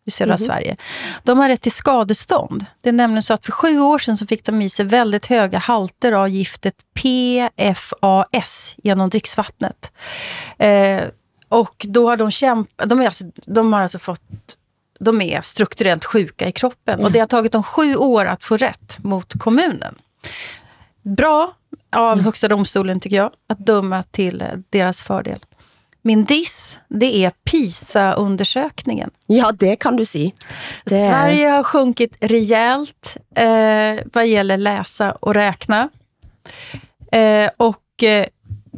i södra Mhm. Sverige. De har rätt till skadestånd. Det är nämligen så att för sju år sedan så fick de i sig väldigt höga halter av giftet P F A S genom dricksvattnet. Eh, och då har de kämpat, de, är alltså, de har alltså fått, de är strukturellt sjuka i kroppen. Mm. Och det har tagit dem sju år att få rätt mot kommunen. Bra av Högsta domstolen tycker jag, att döma till deras fördel. Min diss, det är PISA-undersökningen. Ja, det kan du si. Det är- Sverige har sjunkit rejält eh, vad gäller läsa och räkna. Eh, och eh,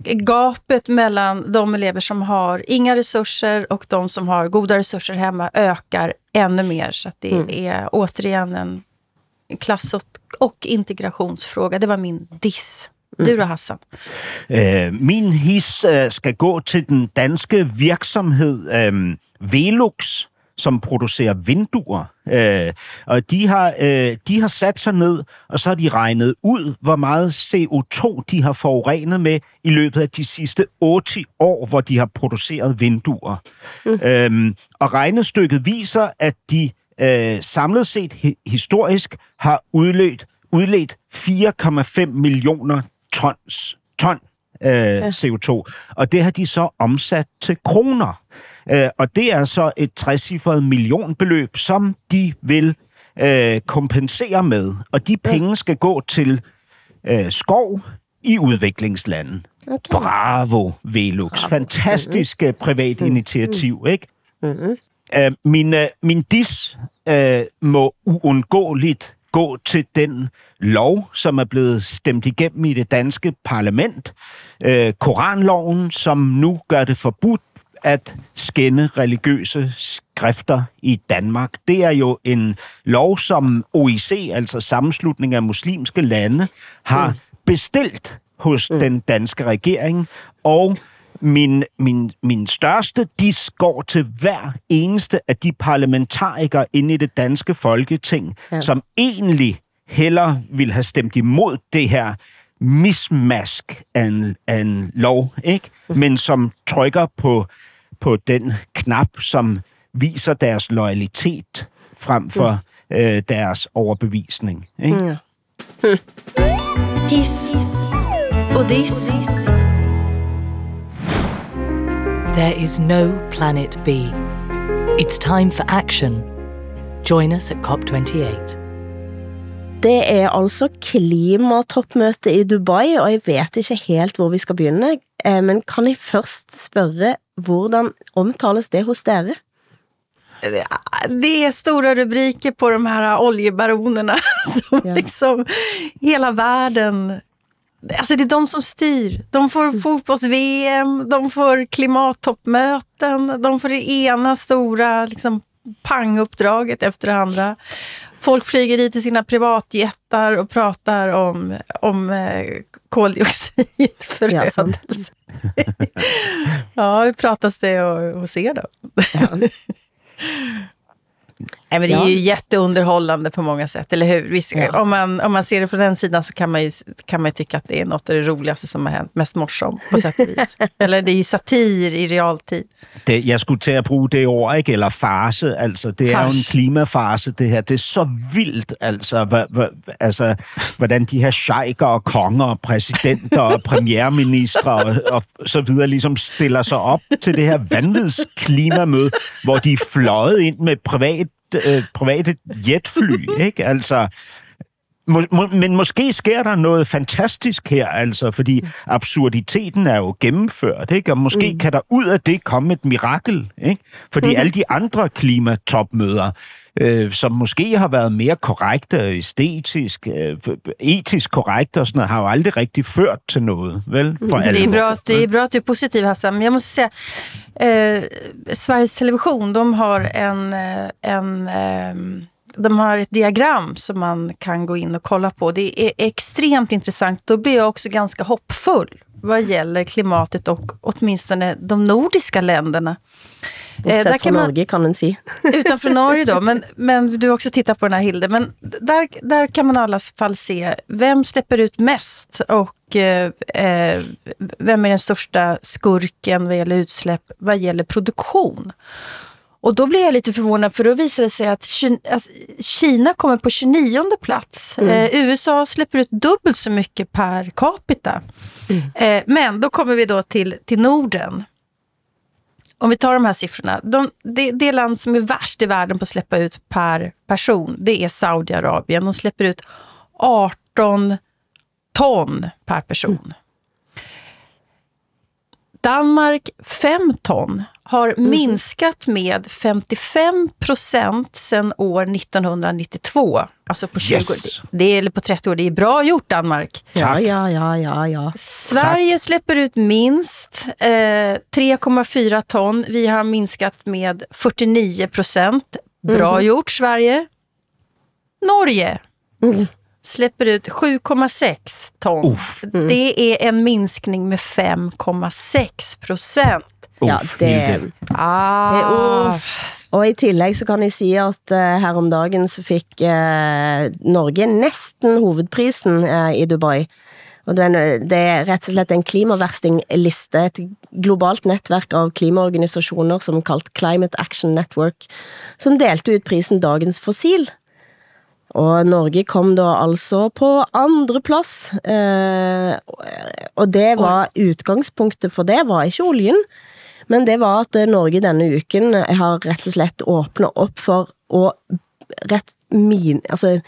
gapet mellan de elever som har inga resurser och de som har goda resurser hemma ökar ännu mer. Så att det Mm. är återigen en klass- och, och integrationsfråga. Det var min diss. Du då, Hassan? Øh, min his øh, skal gå til den danske virksomhed øh, Velux, som producerer vinduer. Øh, og de har, øh, de har sat sig ned, og så har de regnet ud, hvor meget C O to de har forurenet med i løbet af de sidste otte år, hvor de har produceret vinduer. Mm. Øh, og regnestykket viser, at de øh, samlet set hi- historisk har udledt, udledt fire komma fem millioner tons, ton øh, ja. C O to, og det har de så omsat til kroner. Øh, og det er så et trecifret millionbeløb, som de vil øh, kompensere med. Og de penge skal gå til øh, skov i udviklingslande. Okay. Bravo, Velux. Bravo. Fantastisk mm-hmm. privat initiativ, ikke? Mm-hmm. Øh, min, øh, min dis øh, må uundgåeligt gå til den lov, som er blevet stemt igennem i det danske parlament. Øh, Koranloven, som nu gør det forbudt at skænde religiøse skrifter i Danmark. Det er jo en lov, som O I C, altså Sammenslutning af Muslimske Lande, har bestilt hos mm. den danske regering, og Min, min, min største dis går til hver eneste af de parlamentarikere inde i det danske folketing, ja. som egentlig hellere ville have stemt imod det her mismask af en, af en lov, ikke? Mm. men som trykker på, på den knap, som viser deres loyalitet frem for mm. øh, deres overbevisning. Ikke? Mm. Mm. Hiss og diss. There is no planet B. It's time for action. Join us at COP twenty-eight. Det er altså klimatoppmøte i Dubai, og jeg vet ikke helt hvor vi skal begynne, men kan jeg først spørge, hvordan omtales det hos dere? Det är stora rubriker på de här oljebaronerna som ja. liksom hela världen. Alltså det är de som styr. De får mm. fotbolls-V M, de får klimattoppmöten, de får det ena stora liksom, panguppdraget efter det andra. Folk flyger dit i sina privatjättar och pratar om, om eh, koldioxidförödelse. Ja, ja, hur pratas det hos er då? Ja. Nej, men det är ja. ju jätteunderhållande på många sätt, eller hur? Visst, ja. om, man, om man ser det från den sidan så kan man ju, kan man ju tycka att det är något av det roligaste som har hänt, mest morsomt på sätt och vis. Eller det är ju satir i realtid. Det, jeg skulle til at bruge det ord, ikke? Eller farse, altså. Det Fars. er jo en klimafarse, det her. Det er så vildt, altså, hva, hva, altså hvordan de her sheiker og konger og præsidenter og premierministre og, og så videre ligesom stiller sig op til det her vanvidsklimamøde, hvor de er fløjet ind med privat Øh, private jetfly, ikke? Altså, må, må, men måske sker der noget fantastisk her, altså, fordi absurditeten er jo gennemført, ikke? Og måske mm. kan der ud af det komme et mirakel, ikke? Fordi mm. alle de andre klimatopmøder, øh, som måske har været mere korrekte, æstetisk, øh, etisk korrekte og sådan noget, har jo aldrig rigtig ført til noget, vel? For det, är bra, det är bra att du är positiv, Hassan. Men jag måste säga, eh, Sveriges Television, de har en, en eh, de har ett diagram som man kan gå in och kolla på. Det är extremt intressant. Då blir jag också ganska hoppfull vad gäller klimatet och åtminstone de nordiska länderna. Eh, där kan man, Norge kan man se. Utanför Norge då, men, men du har också tittat på den här Hilde. Men där, där kan man i alla fall se vem släpper ut mest och eh, vem är den största skurken vad gäller utsläpp, vad gäller produktion. Och då blir jag lite förvånad, för då visar det sig att Kina kommer på tjugonionde plats. Mm. Eh, U S A släpper ut dubbelt så mycket per capita. Mm. Eh, men då kommer vi då till, till Norden. Om vi tar de här siffrorna. De, det, det land som är värst i världen på att släppa ut per person, det är Saudiarabien. De släpper ut arton ton per person. Mm. Danmark fem ton har mm. minskat med femtiofem procent sedan år nittonhundranittiotvå. Alltså på tjugo yes. det, det är, eller på trettio år. Det är bra gjort, Danmark. Ja, ja, ja, ja, ja. Sverige Tack. släpper ut minst eh, tre komma fyra ton. Vi har minskat med fyrtionio procent. Bra mm. gjort, Sverige. Norge mm. släpper ut sju komma sex ton. Mm. Det är en minskning med fem komma sex procent. Ja, det, ah. det er uff. Og i tillegg så kan jeg si at uh, her om dagen så fikk uh, Norge nesten hovedprisen uh, i Dubai. Og det er, det er rett og slett en klimaverstingliste, et globalt nettverk av klimaorganisasjoner som kalt Climate Action Network, som delte ut prisen Dagens Fossil. Og Norge kom da altså på andre plass, uh, og det var utgangspunktet for det, var ikke oljen, men det var at Norge denne uken har rett og slett åpnet opp for å rett min, altså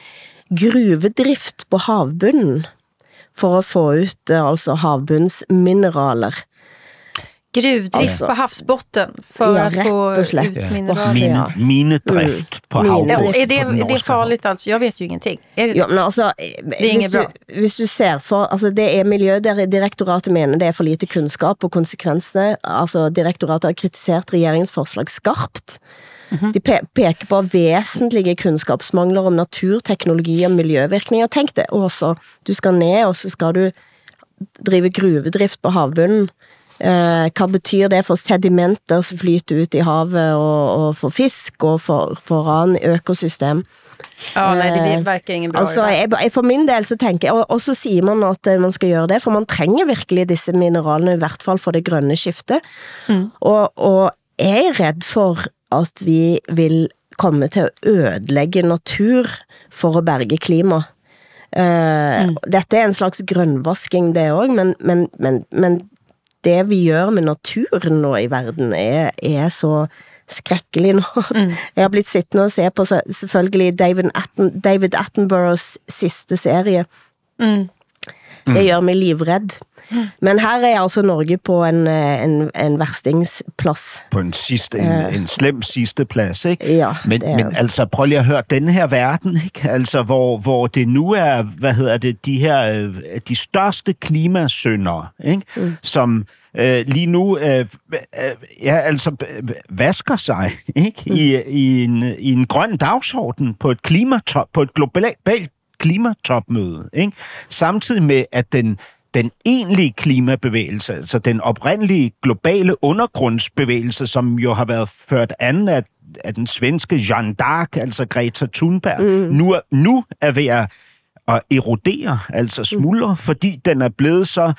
gruvedrift på havbunnen for å få ut altså havbunnsmineraler. Gruvdrift altså, på havsbotten för ja, att få ut mineraler. Min, ja. Minedrift mm. på havbotten. Ja, är det, är det farligt alltså? Jag vet ju ingenting. Är det, ja, men alltså, det är inget bra. Hvis du ser for, alltså det är Miljødirektoratet mener det är för lite kunskap och konsekvenser. Alltså direktoratet har kritisert regeringens forslag skarpt. Mm-hmm. De pe- peker på vesentlige kunnskapsmangler om naturteknologi og miljøvirkninger. Tenk det også. Du skal ned, og så skal du drive gruvedrift på havbunnen. Uh, hva betyr det for sedimenter som flyter ut i havet og, og for fisk og for, for annen økosystem? Ja, nei, det verker ingen bra. Altså, jeg, jeg, for min del så tenker jeg, og, og så sier man at man skal gjøre det, for man trenger virkelig disse mineralene, i hvert fall for det grønne skiftet. Mm. Og, og jeg er redd for at vi vil komme til å ødelegge natur for å berge klima. Uh, mm. Dette er en slags grønnvasking det også, men, men, men, men det vi gjør med naturen nå i verden er, er så skrekkelig nå. Mm. Jeg har blitt sittende og se på så, selvfølgelig David, Atten, David Attenboroughs siste serie. Mm. Det gjør meg livredd. Mm. Men her er altså Norge på en, en, en værstingsplads. På en, sidste, en, uh, en slem sidste plads, ikke? Ja, men, men altså, prøv lige at høre, denne her verden, ikke? Altså, hvor, hvor det nu er, hvad hedder det, de her, de største klimasyndere, ikke? Mm. Som øh, lige nu, øh, øh, ja, altså, vasker sig, ikke? Mm. I, i, en, i en grøn dagsorden på et klimatop, på et globalt klimatopmøde, ikke? Samtidig med, at den den egentlige klimabevægelse, altså den oprindelige globale undergrundsbevægelse, som jo har været ført an af, af den svenske Jeanne d'Arc, altså Greta Thunberg, mm. nu, er, nu er ved at, at erodere, altså smuldre, mm. fordi den er blevet så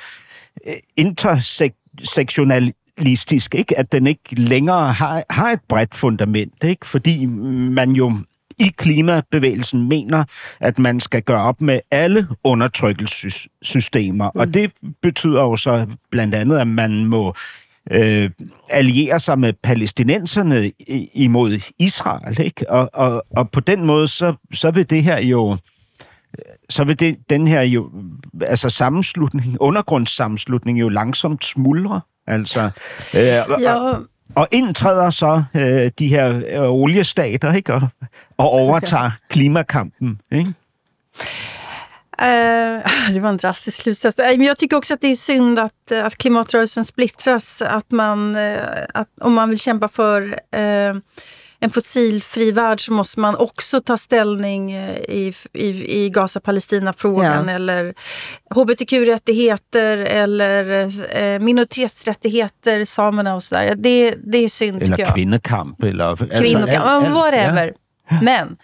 intersektionalistisk, ikke? At den ikke længere har, har et bredt fundament, ikke? Fordi man jo i klimabevægelsen mener, at man skal gøre op med alle undertrykkelsessystemer. Mm. Og det betyder jo så blandt andet, at man må øh, alliere sig med palæstinenserne imod Israel, ikke? Og, og, og på den måde, så, så vil det her jo, så vil det, den her jo, altså sammenslutning, undergrundssammenslutning jo langsomt smuldre. Altså, øh, ja. og, Og indtræder så øh, de her øh, oliestater, ikke? Og, og overtager klimakampen, ikke? Uh, det var en drastisk slutsats. Men jag tycker också att det är synd att, att klimatrörelsen splittras. Att man, att om man vill kämpa för uh, en fossilfri värld så måste man också ta ställning i, i, i Gaza-Palestina-frågan ja. Eller H B T Q-rättigheter eller eh, minoritetsrättigheter, samerna och sådär. Det, det är synd, eller tycker jag. Kvinnekamp. Eller, Kvinnekamp, alltså, whatever. Ja. Men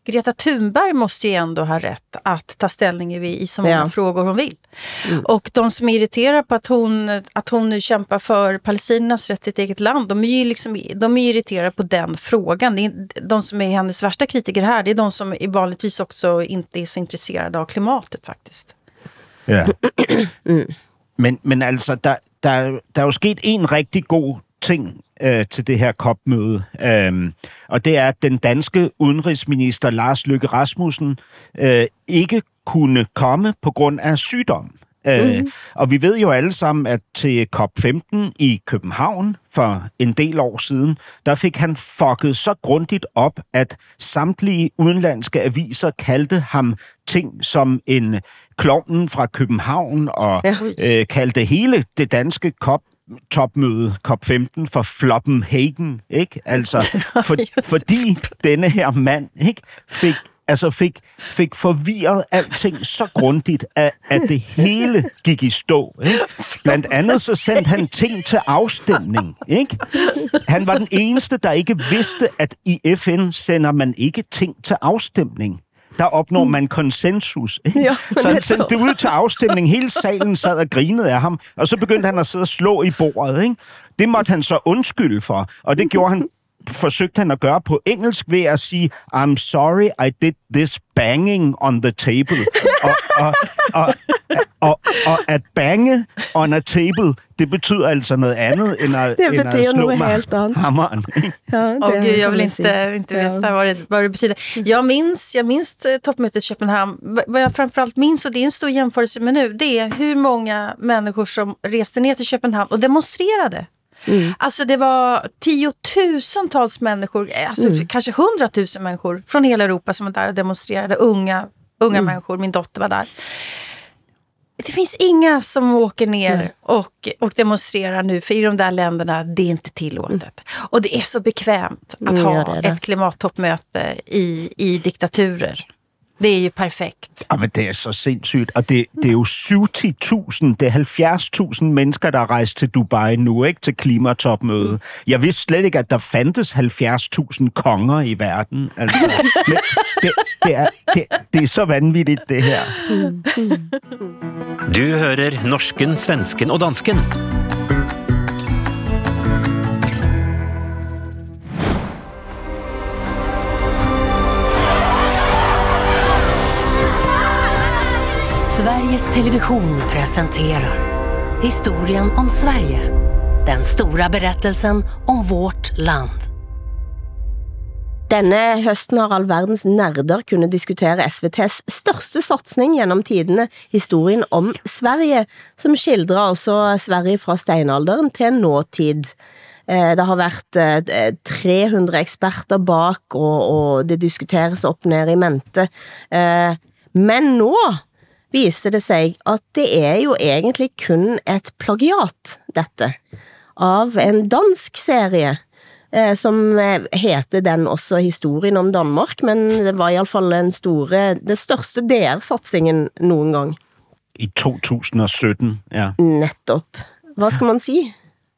Greta Thunberg måste ju ändå ha rätt att ta ställning i, i så många ja. frågor hon vill. Mm. Och de som är irriterade på att hon, att hon nu kämpar för Palestinas rätt till ett eget land, de är ju liksom, de är irriterade på den frågan. Det är, de som är hennes värsta kritiker här, det är de som är vanligtvis också inte är så intresserade av klimatet faktiskt. Ja. Mm. Men, men altså, der, der, der er jo sket en rigtig god ting øh, til det her C O P-møde, øhm, og det er, at den danske udenrigsminister Lars Løkke Rasmussen øh, ikke kunne komme på grund af sygdom. Øh, mm. Og vi ved jo alle sammen, at til C O P femten i København for en del år siden, der fik han fucket så grundigt op, at samtlige udenlandske aviser kaldte ham ting som en klovnen fra København, og ja. øh, kaldte hele det danske C O P topmøde C O P femten for Floppenhagen, ikke? Altså, for, fordi denne her mand, ikke, fik altså fik, fik forvirret alting så grundigt, at, at det hele gik i stå. Ikke? Blandt andet så sendte han ting til afstemning. Ikke? Han var den eneste, der ikke vidste, at i F N sender man ikke ting til afstemning. Der opnår man konsensus. Ikke? Ja, så han sendte det ud til afstemning. Hele salen sad og grinede af ham, og så begyndte han at sidde og slå i bordet. Ikke? Det måtte han så undskylde for, og det gjorde han forsøgte han at gøre på engelsk ved at sige, I'm sorry, I did this banging on the table. og, og, og, og, og at bange on a table, det betyder altså noget andet, end at, det end at slå med hammaren. Ja, Åh oh, gud, jag vill inte, inte veta vad det, vad det betyder. Jag minns, jag minns toppmötet i Köpenhamn. Vad jag framförallt minns, och det är en stor jämförelse med nu, det är hur många människor som reste ner till Köpenhamn och demonstrerade. Mm. Alltså det var tiotusentals människor, alltså mm. kanske hundratusen människor från hela Europa som var där och demonstrerade, unga, unga mm. människor, min dotter var där. Det finns inga som åker ner mm. och, och demonstrerar nu, för i de där länderna det är inte tillåtet. Mm. Och det är så bekvämt att mm, ha ja, det det. ett klimattoppmöte i, i diktaturer. Det er jo perfekt. Ja, men det er så sindssygt. Og det, det er jo syvogtyve tusind, det er halvfjerds tusind mennesker, der er rejst til Dubai nu, ikke? Til klimatopmødet. Jeg vidste slet ikke, at der fandtes halvfjerds tusind konger i verden. Altså, men det, det, er, det, det er så vanvittigt, det her. Du hører norsken, svensken og dansken. Sveriges Television presenterar historien om Sverige. Den stora berättelsen om vårt land. Denne høsten har all verdens nerder kunne diskutere S V T's største satsning gjennom tidene, historien om Sverige, som skildrer også Sverige fra steinalderen til nåtid. Det har vært tre hundre eksperter bak, og, og det diskuteres opp ned i mente. Men nå viser det sig, at det er jo egentlig kun et plagiat, dette, av en dansk serie, eh, som heter den også historien om Danmark, men det var i alle fall en store, det største D R-satsingen noen gang. I to tusind og sytten, ja. Nettopp. Hvad skal man sige?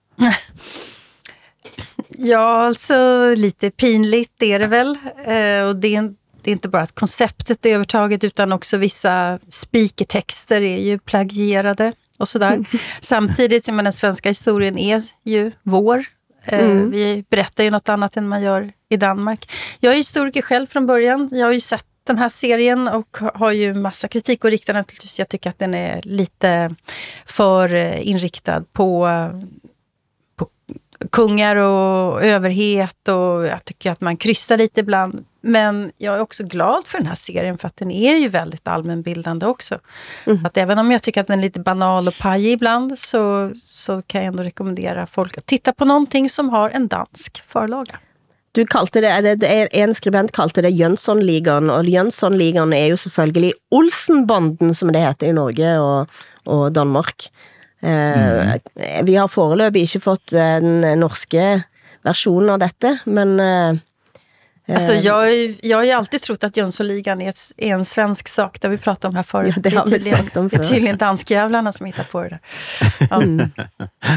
Ja, alltså lite pinligt det är det väl. Eh, och det är en Det är inte bara att konceptet är övertaget, utan också vissa speakertexter är ju plagierade och sådär. Mm. Samtidigt som den svenska historien är ju vår. Mm. Vi berättar ju något annat än man gör i Danmark. Jag är historiker själv från början. Jag har ju sett den här serien och har ju massa kritik och riktar naturligtvis. Jag tycker att den är lite för inriktad på, på kungar och överhet, och jag tycker att man krystar lite ibland. Men jag är också glad för den här serien, för att den är ju väldigt allmänbildande också. Mm. Att även om jag tycker att den är lite banal och pajig ibland, så, så kan jag ändå rekommendera folk att titta på någonting som har en dansk förlaga. Du kalte det, det er en skribent kalte det Jönssonligaen, og Jönssonligaen er jo selvfølgelig Olsenbanden, som det heter i Norge og, og Danmark. Mm. Eh, vi har foreløpig ikke fått den norske versionen av dette, men... Eh, Alltså jag, jag har ju alltid trott att Jönssonligaen är, ett, är en svensk sak, där vi pratade om här förut. Ja, det har vi sagt om förut. Det är tydligen danskjävlarna som hittar på det där. Ja. Mm.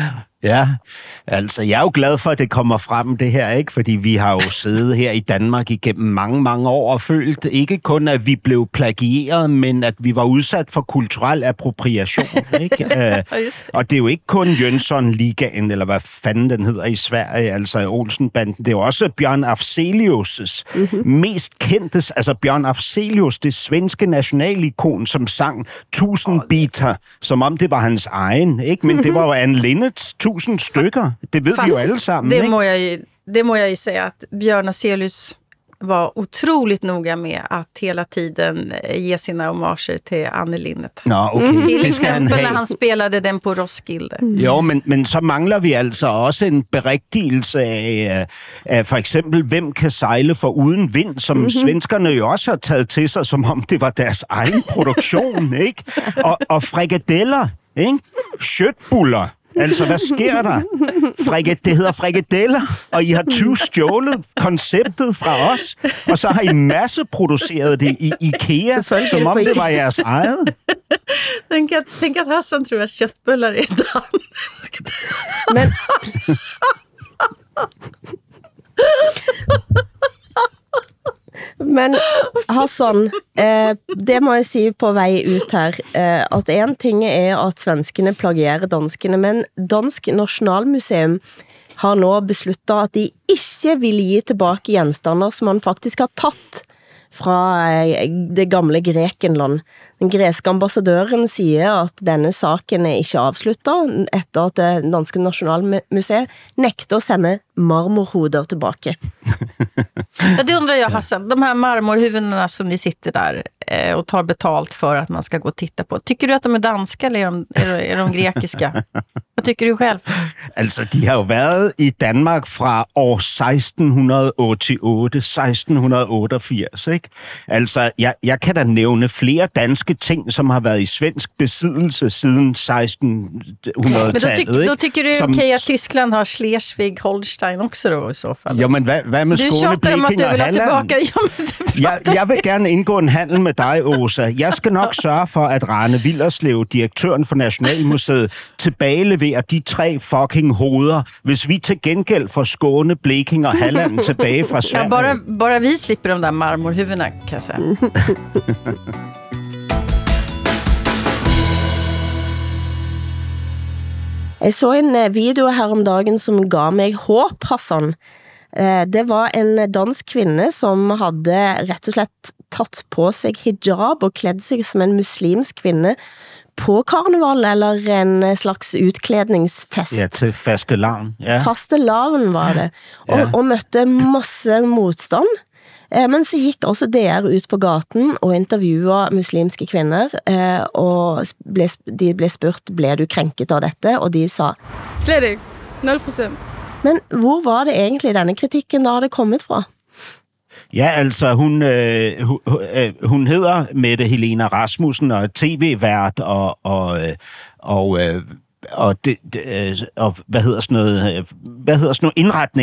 Ja, altså jeg er jo glad for, at det kommer frem det her, ikke? Fordi vi har jo siddet her i Danmark igennem mange, mange år og følt ikke kun, at vi blev plagieret, men at vi var udsat for kulturel appropriation, ikke? uh, og det er jo ikke kun Jönssonligaen, eller hvad fanden den hedder i Sverige, altså Olsenbanden. Det er jo også Bjørn Afzelius' mm-hmm. mest kendte, altså Bjørn Afzelius, det svenske nationalikon, som sang tusind biter, som om det var hans egen, ikke? Men mm-hmm. det var jo Anne Linnets tusind stykker. Det ved Fast vi jo alle sammen, det ikke? Må jeg, ju- det må jag ju säga att Björn Afzelius var otroligt noga med att hela tiden ge sina homager till Anne Linnet. Nå, okay. Mm. Till Det skal han exempel have. när han spelade den på Roskilde. Jo, men, men så mangler vi altså også en berigtigelse af, af for eksempel, hvem kan sejle for uden vind, som mm-hmm. svenskerne jo også har taget til sig, som om det var deres egen produktion, ikke? Og, og frikadeller, ikke? Schøtbuller. Altså, hvad sker der? Frikad- det hedder frikadeller, og I har tyve stjålet konceptet fra os, og så har I masseproduceret det i IKEA, som om det var jeres eget. Tänk att, tänk att Hassan tror att köttbullar är danskt. Men... Men Hassan, eh, det må jeg si på vei ut her, eh, at en ting er at svenskene plagierer danskene, men Dansk Nationalmuseum har nå besluttet at de ikke vil gi tilbake gjenstander som man faktisk har tatt fra eh, det gamle Grekenland. Den greske ambassadøren siger at denne saken er ikke avsluttet etter at det Danske Nationalmuseet nekter at sende marmorhoder tilbake. Ja, det undrar jag, Hassan. De här marmorhuvudena som ni sitter där eh, och tar betalt för att man ska gå och titta på. Tycker du att de är danska eller är de, är de, är de grekiska? Vad tycker du själv? Altså, de har jo været i Danmark fra år seksten otteogtyve, seksten otteogfirs, ikke? Altså, jeg, jeg kan da nævne flere danske ting, som har været i svensk besiddelse siden sekstenhundredetallet, Men då, tyck, då tycker du det är som, okej att Tyskland har Schleswig-Holstein också då i så fall? Jo, men hvad, hvad med Skåne, Blekinge og Halland? Tillbaka. Ja, men det Jeg, jeg vil gerne indgå en handel med dig, Åsa. Jeg skal nok sørge for, at Rane Willerslev, direktøren for Nationalmuseet, tilbageleverer de tre fucking hoveder, hvis vi til gengæld får Skåne, Blekinge og Halland tilbage fra Sverige. Ja, bara, bara vi slipper de där marmorhuvudena, kan jag säga. Jeg så en video her om dagen som gav mig håb, Hassan. Det var en dansk kvinde, som havde rett og slett tatt på sig hijab og klædt sig som en muslimsk kvinde på karneval, eller en slags utklædningsfest. Ja, til fastelavn. Ja. Fastelavn var det. Og, Ja. og møtte masse modstand. Eh, Men så gik også D R ut på gaten og intervjuede muslimske kvinder, eh, og ble, de blev spurgt, blev du krænket av dette? Og de sa, Slet ikke. nul procent. men hvor var det egentlig denne kritikken, der havde kommet fra? Ja, altså, hun, øh, hun, øh, hun hedder Mette Helena Rasmussen og er tv-vært og, og, øh, og, øh, og, det, det, og hvad hedder sådan noget, øh, hvad hedder sådan noget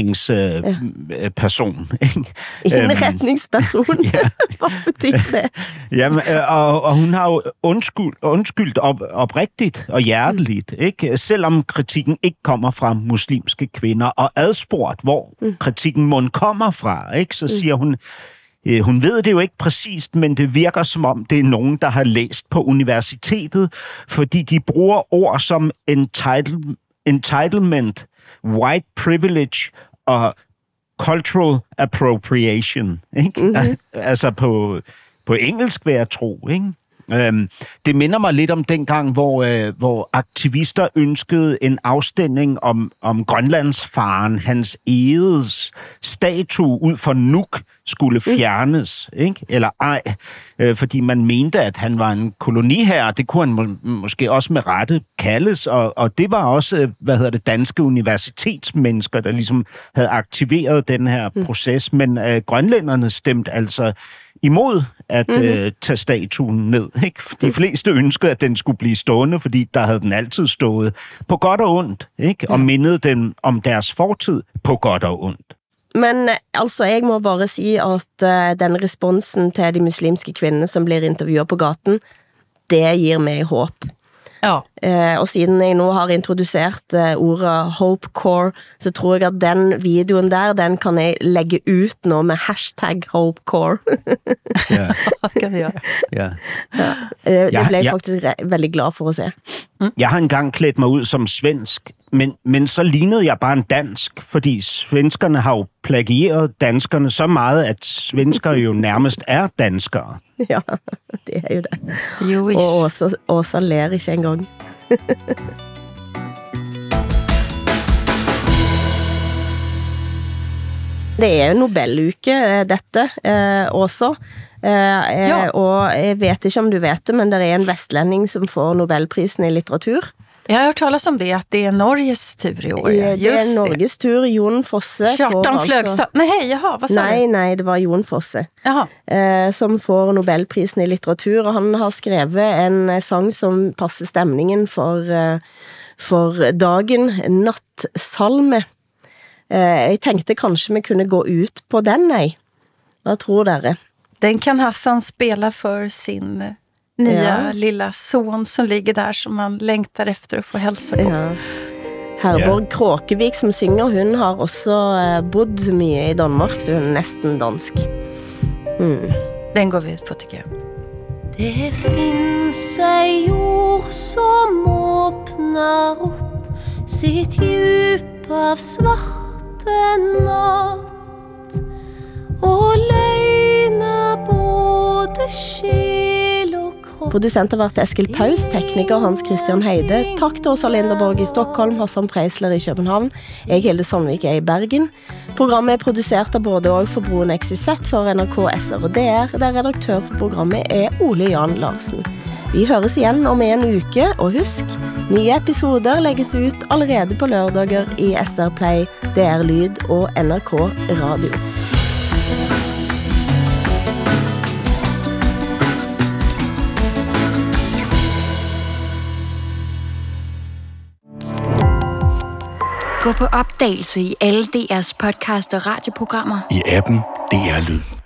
indretningsperson. Øh, ja. Indretningsperson? Ja. Hvad betyder det? Jamen, øh, og, og hun har jo undskyld, undskyldt op, oprigtigt og hjerteligt, ikke? Selvom kritikken ikke kommer fra muslimske kvinder, og adspurgt, hvor mm. kritikken mund kommer fra, ikke? Så siger hun, øh, hun ved det jo ikke præcist, men det virker som om, det er nogen, der har læst på universitetet, fordi de bruger ord som entitle, entitlement, white privilege og cultural appropriation, ikke? Mm-hmm. Altså på, på engelsk vil jeg tro, ikke? Øhm, det minder mig lidt om dengang, hvor, øh, hvor aktivister ønskede en afstemning om, om Grønlandsfaren, Hans Egedes statue ud for Nuuk skulle fjernes, ikke? Eller ej, øh, fordi man mente, at han var en koloniherre. Det kunne han må, måske også med rette kaldes, og, og det var også, hvad hedder det, danske universitetsmennesker, der ligesom havde aktiveret den her proces, men øh, grønlænderne stemte altså imod at mm-hmm. øh, tage statuen ned. Ikke? De fleste ønskede, at den skulle blive stående, fordi der havde den altid stået på godt og ondt, ikke? Og mindede dem om deres fortid på godt og ondt. Men altså, jeg må bare sige, at uh, den responsen til de muslimske kvinder, som bliver intervjuet på gaten, det giver mig håb. Ja. Eh, og siden jeg nå har introdusert eh, ordet Hopecore, så tror jeg at den videoen der, den kan jeg legge ut nå med hashtag Hopecore. Ja. Vad kan du göra? Ja. Ja. Eh, det Ja, blev jeg ja. faktisk re- veldig glad for at se. Jeg har engang klædt mig ud som svensk, men, men så lignede jeg bare en dansk, fordi svenskerne har jo plagieret danskerne så meget, at svensker jo nærmest er danskere. Ja, det er jo det. Jo, Og ish. Åsa, Åsa ler ikke engang. Det er jo Nobeluke, eh, dette, eh, også. Eh, eh, Ja. Og jeg vet ikke om du vet det, men det er en vestlending som får Nobelprisen i litteratur. Jag har hört talas om det, att det är Norges tur i år. ja. Eh, Det er Just det. Norges tur. Jon Fosse får Kjartan altså- Flögstad. Nej, jaha, vad sa Nei, du? nei, det var Jon Fosse. Jaha. eh, som får Nobelprisen i litteratur, og han har skrevet en eh, sang som passer stemningen for, eh, for dagen, Nattsalme. Eh, jeg tenkte kanskje vi kunne gå ut på den, nei. Hva tror dere? Den kan Hassan spela för sin eh, nya Ja. lilla son som ligger där som man längtar efter att få hälsa på. Ja. Herborg Kråkevik som synger, hun har også eh, bodd mye i Danmark, så hun er nesten dansk. Mm. Den går vi ut på, tycker jag. Det finns en jord som åpner upp sitt djup av svarte natt og løgner både sjel og kropp. Produsent har vært Eskil Paus, tekniker Hans Christian Heide. Takk til Åsa Linderborg i Stockholm, Hassan Preisler i København. Jeg, Hilde Sandvik, er i Bergen. Programmet er produsert av både og for Broen X Y Z for N R K, S R og D R, der redaktør for programmet er Ole Jan Larsen. Vi høres igjen om en uke, og husk, nye episoder legges ut allerede på lørdager i S R Play, D R Lyd og N R K Radio. Gå på opdagelse i alle D R's podcast og radioprogrammer. I appen D R Lyd.